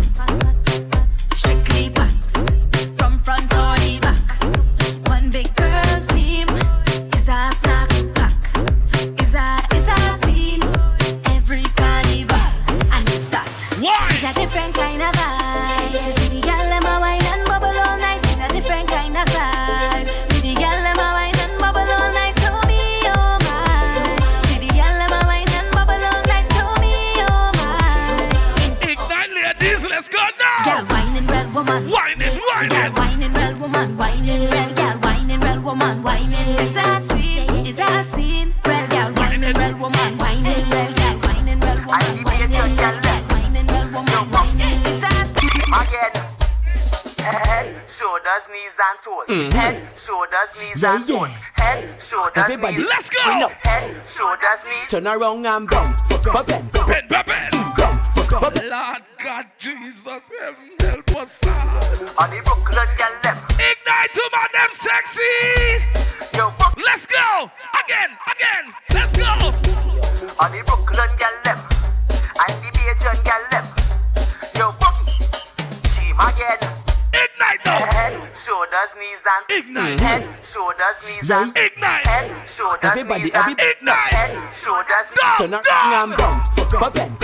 Strictly facts. From front or the back. One big girl's team. It's a snack pack. It's a scene. Every carnival. And it's that. Why? It's a different kind of vibe. You see the girl them a wine and bubble all night in a different kind of style. See the girl them a wine and bubble all night to me, oh my. See the girl them a wine and bubble all night to me, oh my. Ignite, ladies, let's go now. Girl whining, real woman. Whining, whining. Girl whining, real woman. Whining, real girl whining, real woman. Whining. It's a scene. It's a scene. Real girl whining, real woman. Whining, real girl whining, real woman. Whining, real girl whining, real woman. Whining. It's a scene. Again. Head, shoulders, knees and toes. Head, shoulders, knees and toes. Head, shoulders, Everybody, knees. let's go. Head, shoulders, knees. Turn around and bend, bend, Lord God, Jesus, help us. On the Brooklyn girl them. Ignite to my them sexy. Yo, let's go. Again. Let's go. On the Brooklyn girl them. And the Bajan girl them. Yo, Boogie. Team again. Ignite now. Head, shoulders, knees and ignite. Head, shoulders, knees and ignite. Head, shoulders, everybody, knees and ignite. Head, shoulders, turn around and bend,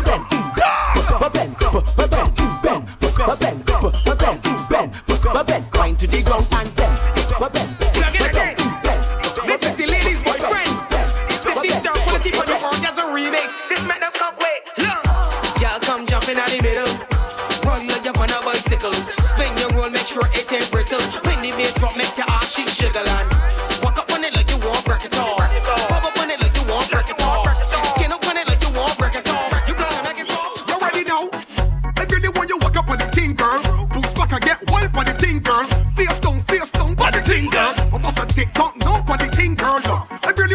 bend, grind to the ground and bend. Plug it again. This is the ladies' boyfriend. It's the Victor quality for the orgasm remix. This man don't come wait. Look, y'all come jumping out the middle. Run like you're on a bicycle. Spin your roll, make sure it ain't brittle. When the beat drop, make your ass shake sugar land. Walk up on it like you want break it off. Pop up on it like you want break it off. Skin up on it like you want break it off. You blow and make it soft. You ready now? If you're the one you walk up on the thing, girl. Boost back and get wild on the thing, girl. Face down, face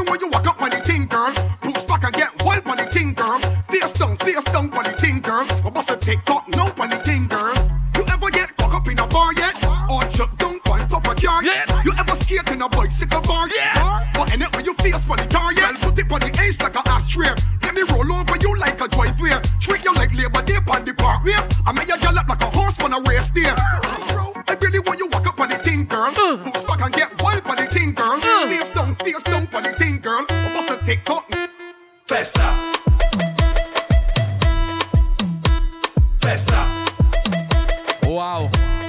when you walk up on the thing, girl. Push back and get wild on the thing, girl. Face down on the thing, girl. I bust a TikTok no on the thing, girl. You ever get caught up in a bar yet? Or shut down on top of car yet? You ever skate in a bicycle bar yet? But in it when you face for the tar yet? Put it on the edge like a ashtray. Let me roll over you like a driveway. Treat you like Labor Day on the parkway. I make you gallop like a horse on a race day. I really want you walk up on the thing, girl. Push back and get wild on the thing, girl. Face down on the thing, girl. I bust a TikTok. Festa. Festa. Wow.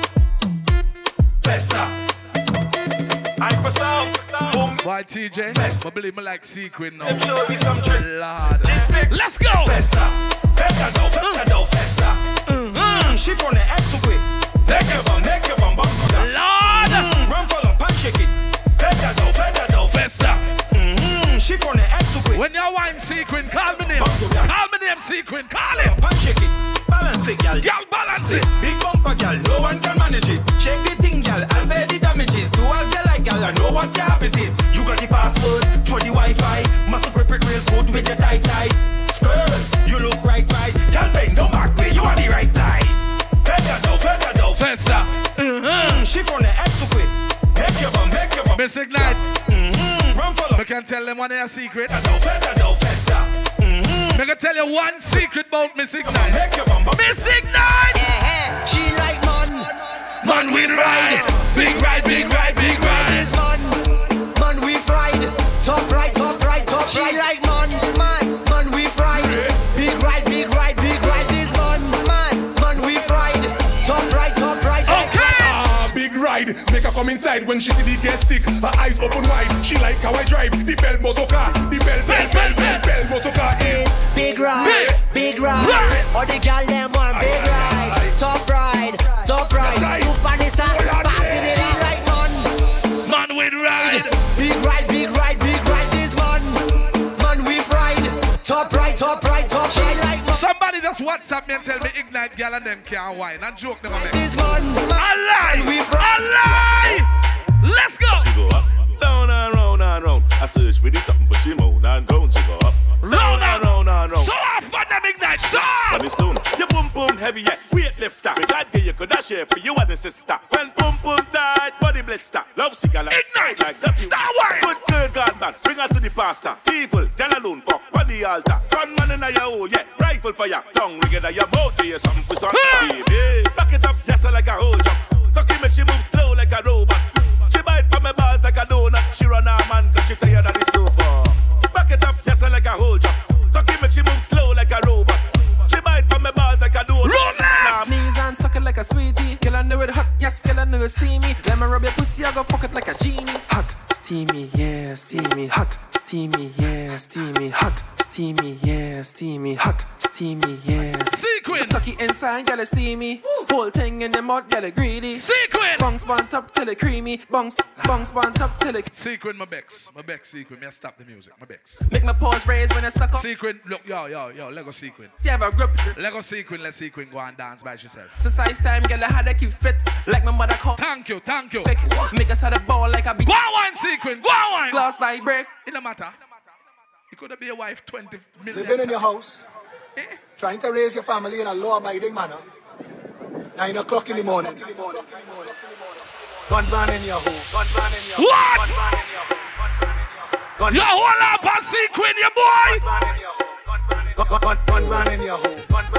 Festa. I'm for sound. Why TJ? I believe me like Sequin now. Show me some trick. Lord. Let's go. Festa. Festa do. Festa. She from the X to quick. Take your bum, make your bum. Lord. Run for the punch, shake it. Festa do. Festa. She from the X to quick. When you wine Sequin, call me name. Call me name Sequin. Call it. Punch, shake it. Balance it, gal. Y'all balance it. Big bumper, gal. No one can manage it. Check the thing, gal. I'll pay the damages. Do as you like, gal. I know what your habit is. You got the password for the Wi-Fi. Must grip it real good with your tight. Skirt, you look right. Gal, bang, don't back way. You are the right size. Festa do. Festa. She from the X to quit. Make your bum. Miss Ignite. Run for I can tell them one of your secret. Festa do. Festa. I can tell you one secret about Miss Ignite. Miss Ignite! She like man with ride. Big ride. This man we fried. Top right. She like man we fried. Big ride. This man we fried. Top right. Okay. Big ride. Make her come inside when she see the gas stick. Her eyes open wide. She like how I drive the bell motor car. The bell motor car is big ride. Or the girl them want big ride. Top ride. Super Nissan. Passing it out like man with ride. Big ride. This man we fried. Top right. She like man. Somebody just WhatsApp me and tell me Ignite gal and them can't wine. And joke them on me. This man a lie. Let's go. She go up, down and round. I search for this something for Simone and down. She go up, down and round. So often them Ignite. So. On the stone, your boom heavy yet weightlifter. We got you could dash here for you and the sister. When boom tight, body blister. Love cigar like Ignite like that. Star wine. Good girl, God man, bring her to the pastor. Evil, girl alone, fuck on the altar. Gunman in your hole, yeah. Rifle for your tongue, we get your mouth. Do you something for some baby? Back it up, yes, like a whole jump. Tucky make she move slow like a robot. She bite from my balls like a donut. She run her man cause she tired of the slow for. Back it up, yes, like a whole jump. Tucky make she move slow like a robot. She bite from my balls like a donut. Knees and suck it like a sweetie. Girl, I know it hot, yes, girl, I know it steamy. Let me rub your pussy, I go fuck it like a genie. Hot, steamy, yeah, steamy. Hot, steamy, yeah, steamy. Hot, steamy, yeah, steamy. Hot, steamy, yeah. Sequin. Tucky inside, girl, it's steamy. Whole thing in the mud, girl, it greedy. Sequin. Bungs bun top till it creamy. Bungs bun top till it. Sequin, my Bex, Sequin. Me stop the music, my Bex. Make my paws raise when I suck up. Sequin, look, yo, Lego Sequin. See, I have a grip. Lego Sequin, let Sequin go and dance by yourself. So size time, girl, I had to keep fit. Like my mother called. Thank you. Make us have a ball like a big. Go on, Sequin, go on. Glass like break. It don't matter. You could be a wife 20 million. Living in your house, trying to raise your family in a law-abiding manner. 9 o'clock in the morning. Gun ban in your home. What? You hold up and Sequin, your boy. Gun ban in your home.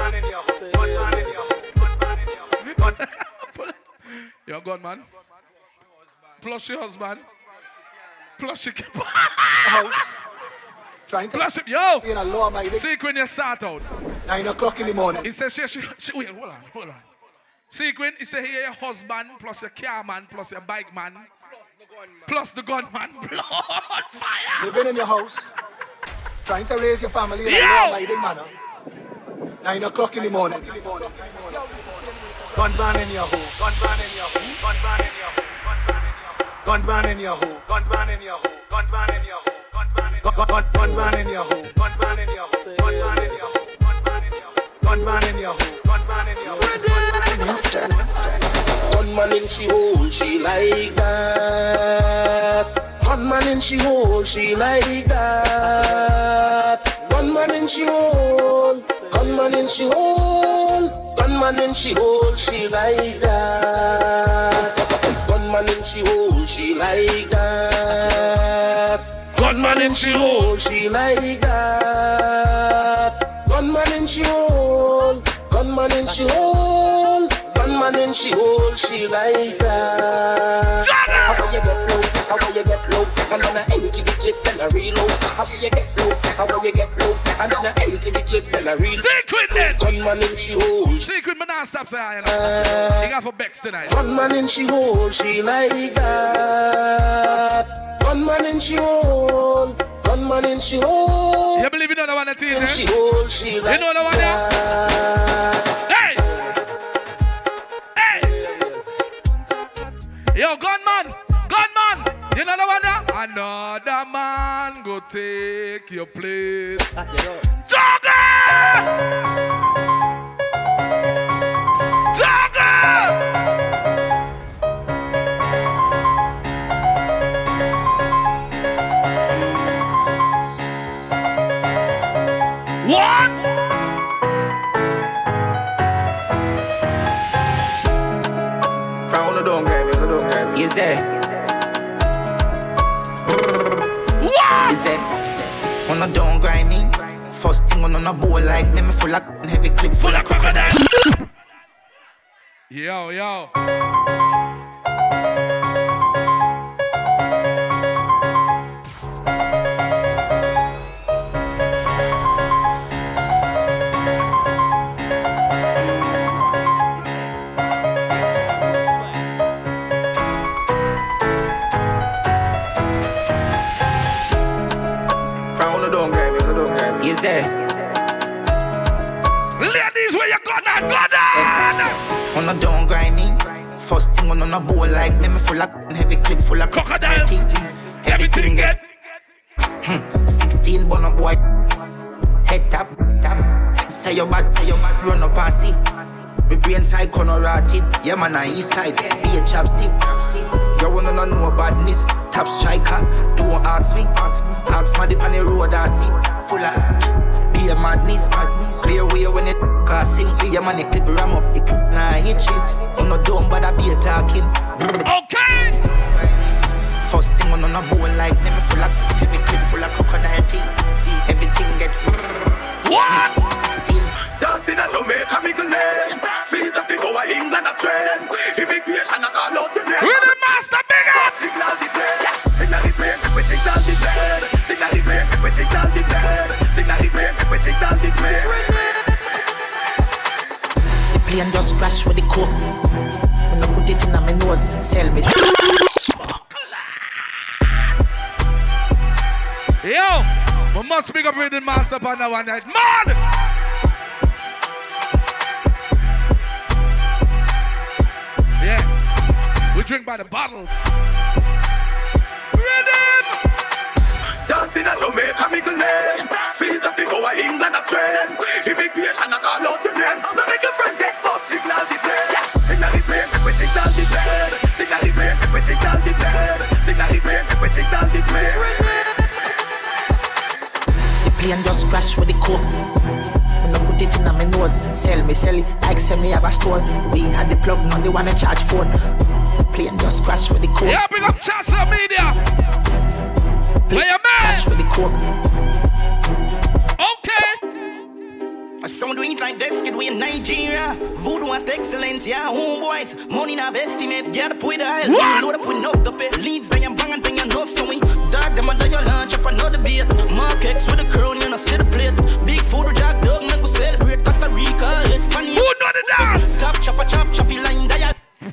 You're gone, man. Plus your husband. Plus your house. Trying to plus yo. In a law-abiding. Sequin, you sort out. 9 o'clock in the morning. He says she wait, hold on. Sequin, he said here your husband plus your car man plus your bike man plus the gunman. Blood fire. Living in your house, trying to raise your family in a law-abiding manner. 9 o'clock in the morning. Gun ban in your home. Gun ban in your home. Gun ban in your home. Gun ban in your home. Gun ban in your home. Gun ban in your home. Gun ban in your home. Gun ban in your home. Gun ban in your home. Master. Gunman in she hole, she like that. Gunman Gunman in she hole, she like that. Gunman in she hole, gunman in she hole, gunman in she hole, she like that. Gunman in she hole, she like that. Gunman in she hole, she like that. Gunman in she hole, gunman in she hole, gunman in she hole, she like that. How will you get low? How will you get low? And then I empty the clip and I reload. How will you get low? How will you get low? And then I empty the clip and I reload. Secret then. Gunman in she hole. Secret, but now stop saying. You got for Bex tonight. Gunman in she hole, she like that. Gunman in she hole. Gunman in she hole. You believe you know the one that is, eh? She hole, she like you know the one there? Hey! Hey! Yo, gunman! Gunman! You know the one there? Another man go take your place. Jogger! Jogger! What? From no don't grab me, no don't grab me. Is there? What? Is there? On no don't grind me. First thing on a bowl like me full of heavy clip full of crocodile. Yo, yo. Is there? Ladies, where you gonna go down? On a don't grind me. First thing on a bowl like me full of heavy clip full of crocodile. Everything get 16 bun up boy. Head tap, tap. Say your bad, run up and see. My brain side corner rotted. Yeah man, I east side. Be a chapstick. You wanna know badness. Top striker, don't ask me. Ask my dip on the road I see. Full of be a madness. Clear way when it sing. See your money clip ram up. It nah hit shit. On no dumb but I be a talking. Okay. First thing on a bowl like me full of heavy clip full of crocodile teeth. Everything get what? 16. Dancing as Jamaica middle name. Feel that they go to England a train. If it creation I call out the name. We the master big up. Signal the plane. Signal the plane. We signal the plane. Signal the plane. We signal the plane. Signal the plane. We signal the plane. The plane just crash with the coke. When I put it in my nose, sell me. Yo, we must big up Rhythm Master on that one night. Man! Yeah, we drink by the bottles. Rhythm! Dancing as Jamaica middle name. Feel that they go to England a train. If it creation I call out the name. We make a friend get up. Signal the plane. Signal the plane. We signal the plane. Signal the plane. We signal the plane. Signal the plane. We signal the plane. Plane just crash with the coke. When I put it in my nose, sell it like sell me have a store. We had the plug, now they wanna charge phone. Plane just crash with the coke. Yeah, big up Chassa Media. Play your man. Crash with the coke. Okay. Some do it like this, kid, we in Nigeria. Voodoo at excellence, yeah, homeboys. Money in our estimate, get up with the aisle. Load up with enough to pay. Leads, bang and bang and bang enough, so we dog them under your lunch up another beat. Mark X with the crown, you know, see the plate. Big food, jack dog, make us celebrate. Costa Rica, Hispania. Who know the dance? Top chopper, choppy line, dial.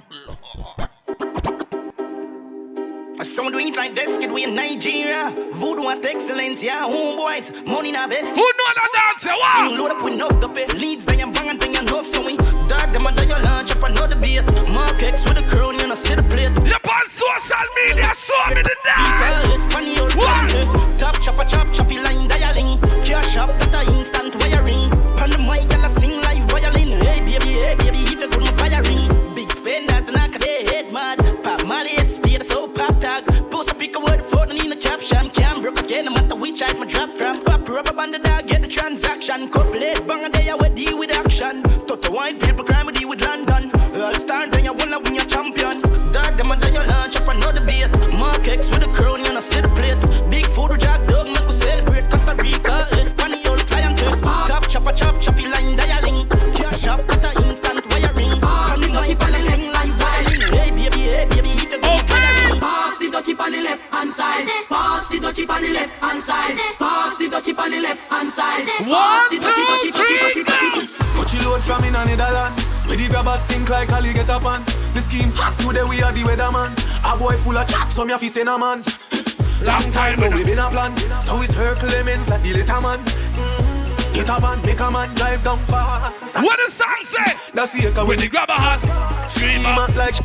Some do it like this, kid, we in Nigeria. Voodoo at excellence, yeah, homeboys. Money in our estimate. Who know the dance, wow? Load up with enough to pay. Leads, bang and bang and bang enough, so we dog them under your lunch up another beat. Mark X with the crown, you know, see the plate. You're on social media, show me the dance. Top chopper, choppy line, dialing. Cash up, that a instant wiring. On the mic, I'll sing like violin. Hey baby, if you could buy a ring. Big spenders, the knock of their head mad. Pop Molly, speed, so pop tag. Post a pick a word for the Nina shot my drop from. Pop rubber band the dog, get the transaction. Couple late bang a day I would deal with action. Toto white people crime with deal with London. All star then you wanna win your champion. Dog them a done your lunch up another beat. Mark X with a crown and a sit plate. Big food with Jack Dog make us celebrate. Costa Rica, Espanol client. Top chopper chop choppy line dialing. Cash up at a instant wiring. Pass the dutchie on the sing like violin. Hey baby, if you go wiring. Pass the dutchie on the left hand side. Pass the dutchie on the left hand side. Pass the dutchie on the left hand side. Pass the dutchie. Coachy load from in Netherlands. Where the grabbers think like Ali get up on. The scheme hot today we are the weatherman. A boy full of chat, some ya fi say na man. Long time now we been a plan. So we circle lemons like the little man. Get a van, make a man drive down fast. What the song say? That's the echo when the grabber hot. Scream out like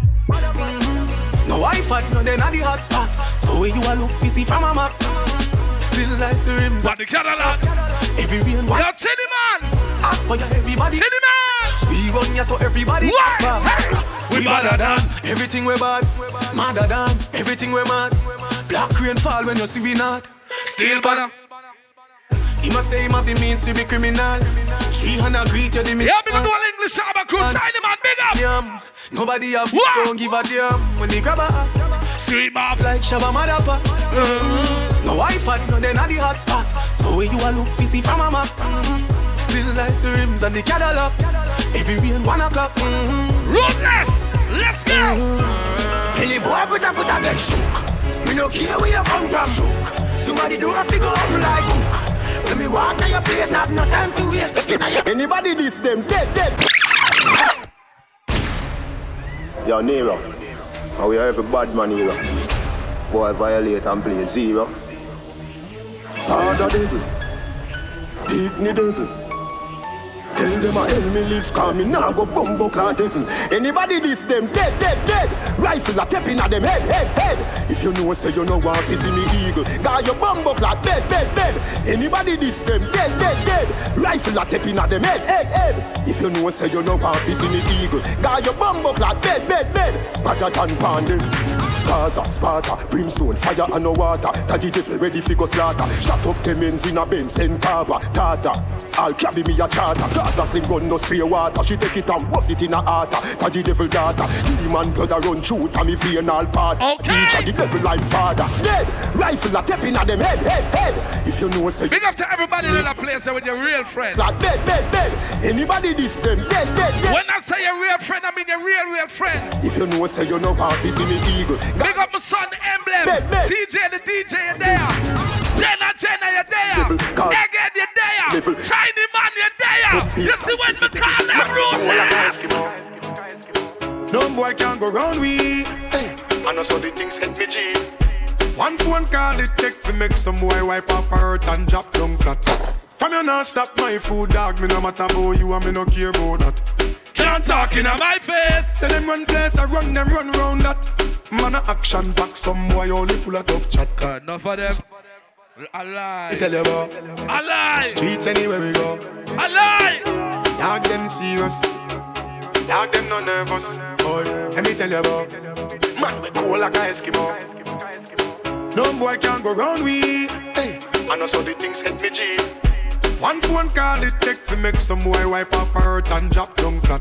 no Wi-Fi, no then at the hot spot. So when you a look fishy from a map. Still like the rims. But the Cadillac. Every rain one. Yo, Chinny man. But everybody. Chinny man. We run ya so everybody. What? We badder than everything we bad. Madder than everything we mad. Black rain fall when you see we not. Still banner. He must say him have the means to be criminal. 300 greet you the me. Yeah, because all English Shabba crew, China man, big up. Yeah, nobody have don't give a damn when they grab a scream up like Shabba Madapa. No Wi-Fi, no then at the hot spot. So when you a look fishy from a map. Still like the rims and the Cadillac. Every rain 1 o'clock. Ruthless, let's go. Any boy put a foot against shook. Me no care where you come from shook. Somebody do a figure up like hook. When me walk to your place, not no time to waste. Anybody this them dead. Yo, Nero, and we are every bad man here. Boy violate and play zero. Father devil, big me devil. Tell them I help me live, call me now go bumbo clock devil. Anybody this them dead. Rifle a tapping at them head. If you know say you know want to see me eagle, got your bumbo clock bed. Anybody this them dead. Rifle a tapping at them head. If you know say you know want to see me eagle, got your bumbo clock bed. Better than pandem. Gaza, Sparta, brimstone, fire and no water. Daddy devil ready fi go slaughter. Shut up them ends in a Benz and Carver. Tata, I'll carry me a charter. Gaza sling gun no spray water. She take it and bust it in a heart. Daddy devil daughter. Demon blood a run through to me vein all part. Each of the devil like father. Dead, rifle a tapping at them head. If you know say. Big up to everybody in that place with your real friend. Like bed. Anybody this them dead. When I say your real friend, I mean your real friend. If you know say you know want to see me eagle. Big up my son, Emblem. TJ the DJ, you're there. Jenna, you're there. Again, you're there. Shiny man, you're there. You see when we call them ruthless. No boy can't go round we. I know so the things hit me G. One phone call it take to make some boy wipe up her hurt and drop down flat. From you not stop my food, dog. Me no matter about you and me no care about that. Can't talk in my face. Say them run place, I run them run round that. Man a action back, some boy only full of tough chat. Enough of them. I lie. I tell you about. I lie. Streets anywhere we go. I lie. Dog them serious. Dog them no nervous. Boy, let me tell you about. Man we cool like a Eskimo. No boy can't go round we. I know so the things hit me G. One phone call it take to make some boy wipe up her hurt and drop down flat.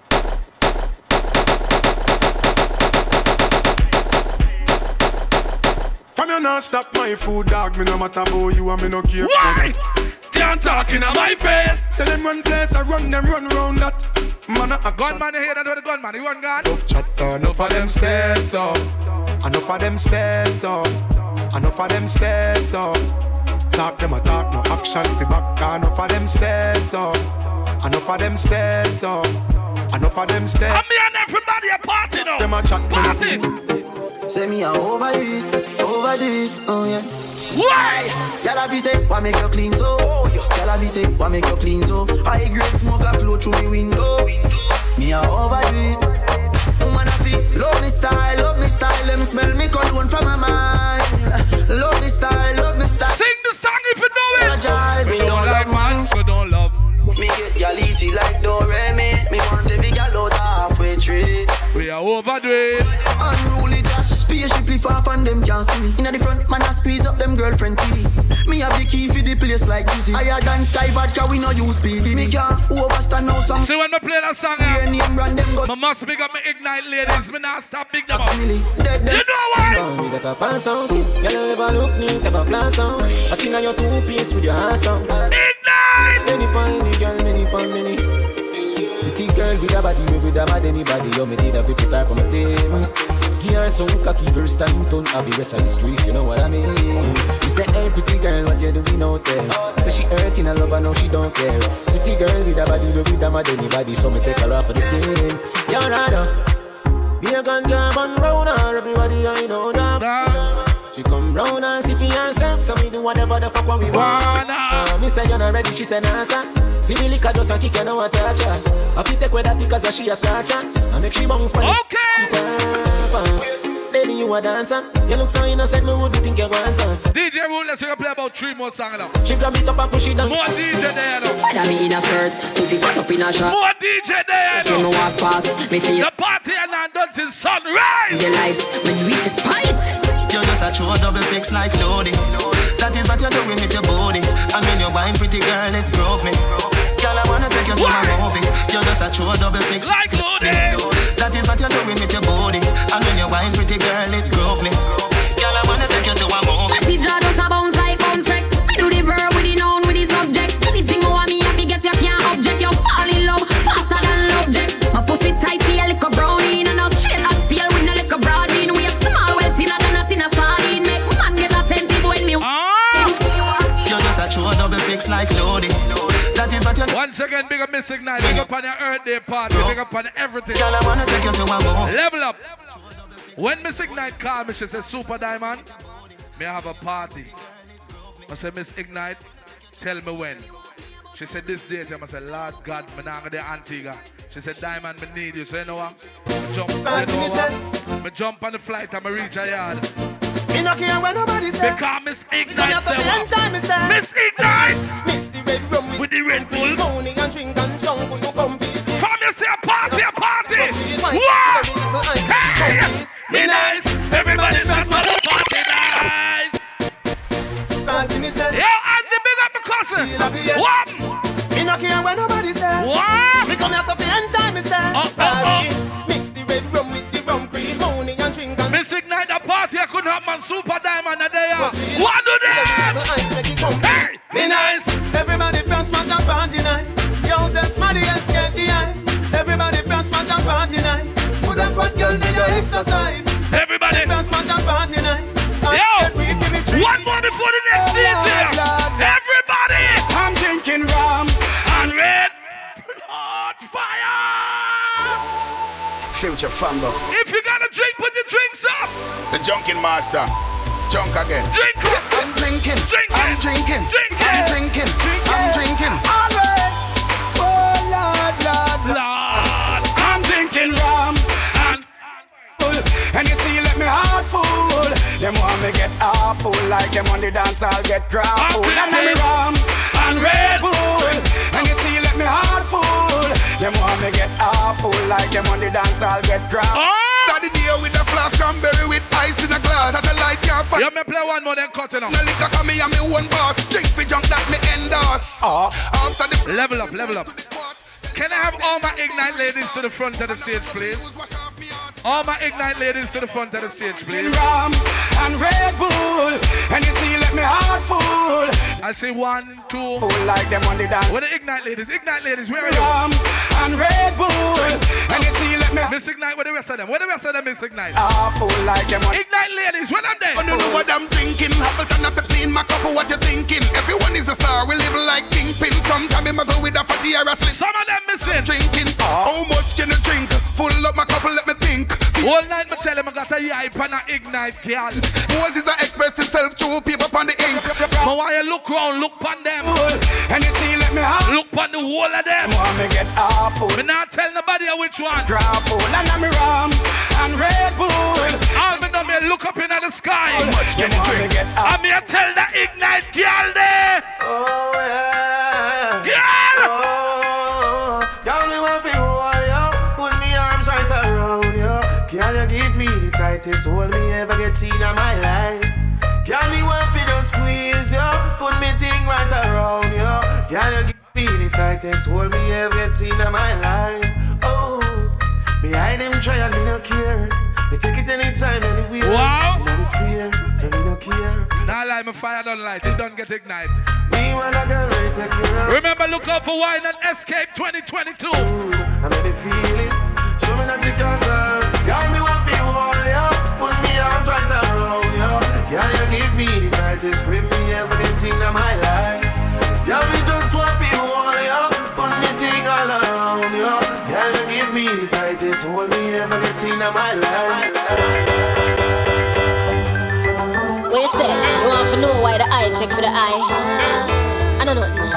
From you not stop my food, dog. Me no matter about you and me no care. Why? Can't talk in my face. Say them run place, I run them run round that. Man a gunman you hear that with the gunman, you one gun. Tough chatter, enough of them stairs up. Enough of them stairs up. Enough of them stairs up. Talk them a talk, no action fi back. Enough of them stairs up. Enough of them stairs up. Enough of them stairs. And me and everybody a party now. Them a chat party. Say me a overdo it, oh yeah. Why? Y'all have say, why make you clean so? Y'all have say, why make you clean so? High grade smoke a flow through me window. Me a overdo it. Woman a feel, love me style. Let me smell me cologne from my mind. Love me style. Sing the song if you know it. Me don't like man, so don't love. Me get y'all easy like Doremi. Me want every girl out halfway tree. We are overdo it. Unruly Josh, spaceship far from them can't see me. Inna the front, man, I squeeze up them girlfriend TV. Me have the key for the place like Dizzy. Higher than Sky Vodka, we no use PD. Me can't overstand now some. See when me play that song, I must pick up my Ignite ladies. Me not stop big them up. You know why? Me that a pass out. You never look neat, ever flash out. But inna your two-piece with your ass out. Ignite! Many pon the girl, many pon many. Pretty girl with a body, with a bad anybody. You me did a pretty type on my table. Give her some cocky first time, don't have the rest of the street, you know what I mean? He said, hey pretty girl, what you doing out there? Say she hurting her love, I know she don't care. Pretty girl with a body, with a mad anybody, so me take her off for the scene. You're rather be a ganja man round her, everybody I know that. She come round and see for herself, so we do whatever the fuck what we want. Me say you're not ready, she said nah son. See the liquor just a kick and now I touch her. I fit take with that cause she a scratch her. I make she bounce pan it. Baby you a dancer. You look so innocent, me would think you want her. DJ Rule, let's play about 3 more songs now. She grab it up and push it down. More DJ there now. Whether me in a skirt, pussy fuck up in a shirt. More DJ there now. If you walk past, me feel the party and not done till sunrise. The lights, when we spite. You're just a true 6 like loading. That is what you're doing with your body. I mean you're wine pretty girl, it drove me. Girl, I wanna take you to my movie. You're just a true 6 like loading. That is what you're doing with your body. I mean you're wine pretty girl, it drove me. Girl, I wanna take you to a movie. I see jaw just a bounce like bounce wreck. I do the verb with the noun with the subject. Anything you want me happy get you can't object. You fall in love faster than object. My pussy tight, see a little brownie and a straight as steel with no little broad bean. We a small well thinner than a thinner sardine. Make man get attentive when me. You're just a true 6 like loading. That is what you're. Once again, big up Miss Ignite. Big up on your Earth Day party. Big up on everything. Girl, I wanna take you to a movie. Level up. When Miss Ignite called me, she said, Super Diamond, may I have a party? I said, Miss Ignite, tell me when. She said, this date. I said, Lord God, I'm not going to Antigua. She said, Diamond, I need you. So you know what? I jump on the flight and I reach a yard. Me no care when nobody say. Because Miss Ignite said, Miss Ignite! Mix the red rum with the Red Bull. Morning and drink and drunk with no comfy. From you say a party, a party! What? Hey! Me nice! Everybody just want to party nice! Yo, and the big up the cousin! What? Me no care when nobody say. What? Me come here so fi enjoy myself. Mix the red rum with the rum cream. Morning and drink and Miss Ignite the party, I couldn't have man Super Diamond a day. What do they? Hey! Me nice! Everybody from smash and party nice. Yo, tell Smaddy and skate the ice. Everybody from smash and party nice. Put a fat girl in your exercise. Everybody from smash and party nice. Yo! One more before the next DJ! Everybody! I'm drinking rum and red blood fire! Future Fambo. If you got a drink, put your drinks up! The Junkin Master. Junk again. Drink! I'm drinking. I'm drinking. I'm drinking. I'm drinking. Alright. Oh Lord, Lord, Lord. I'm drinking rum and you see, let me heart full. Them want me get awful, like them on the dance, I'll get grappled. And let me rum and Red Bull. And you see, let me heart full. Them want me get awful, like them on the dance, I'll get grappled. Daddy deal with the flask cranberry with ice in a glass. As a light can't find. Yeah, me play one more then cut it off. No liquor come me and me one boss. Drink for junk that me endorse. After the level up, level up. Can I have all my Ignite ladies to the front of the stage, please? All my Ignite ladies to the front of the stage, please. Rum and Red Bull, and you see, let me heart full. I say 1, 2. Full like them on the dance. Where the Ignite ladies? Ignite ladies, where are you? Rum and Red Bull, and you see, let me. Miss Ignite, where the rest of them? Where the rest of them Miss Ignite? Full like them on. Ignite ladies, where them there? I don't know what I'm drinking. Appleton and Pepsi in my cup. What you thinking? Everyone is a star. We live like kingpin. Sometimes I go with a fatty or a slip. Some of them missing. Drinking. How much can you drink? Full up my cup. Let me think. All night me tell him I got a yipe and a Ignite girl. Moses express himself through paper on the ink. But why you look round, look on them. And you see, let me have. Look on the whole of them. Want me get awful. Me not tell nobody which one. Grapple and I'm rum and Red Bull. All me know me look up in the sky. How much can you drink? And me tell the Ignite girl there. Oh yeah. Girl. Oh, girl, me want to hold you. Put me arms right around you. Can you give me the tight tightest hold me ever get seen in my life. Can me one for the squeeze, yo? Put me thing right around, yo. Can you give me the tightest hold me ever get seen in my life? Oh, behind them try and me no care. Me take it anytime, anywhere. Wow. You know the square, so me no care. Now light my fire don't light, it don't get ignite. Me want a girl right take care of. Remember, look out for Wine and Escape 2022. I made it feel it. Show me that you can girl. Got me one for you all, yo. Put me arms right around, yo. Can you give me the tightest grip me ever get seen in my life? Can me just one for you all, yo. Put me thing all around, yo. Can you give me the tightest hold me ever get seen in my life? What you say? You want to know why the eye check for the eye? I don't know.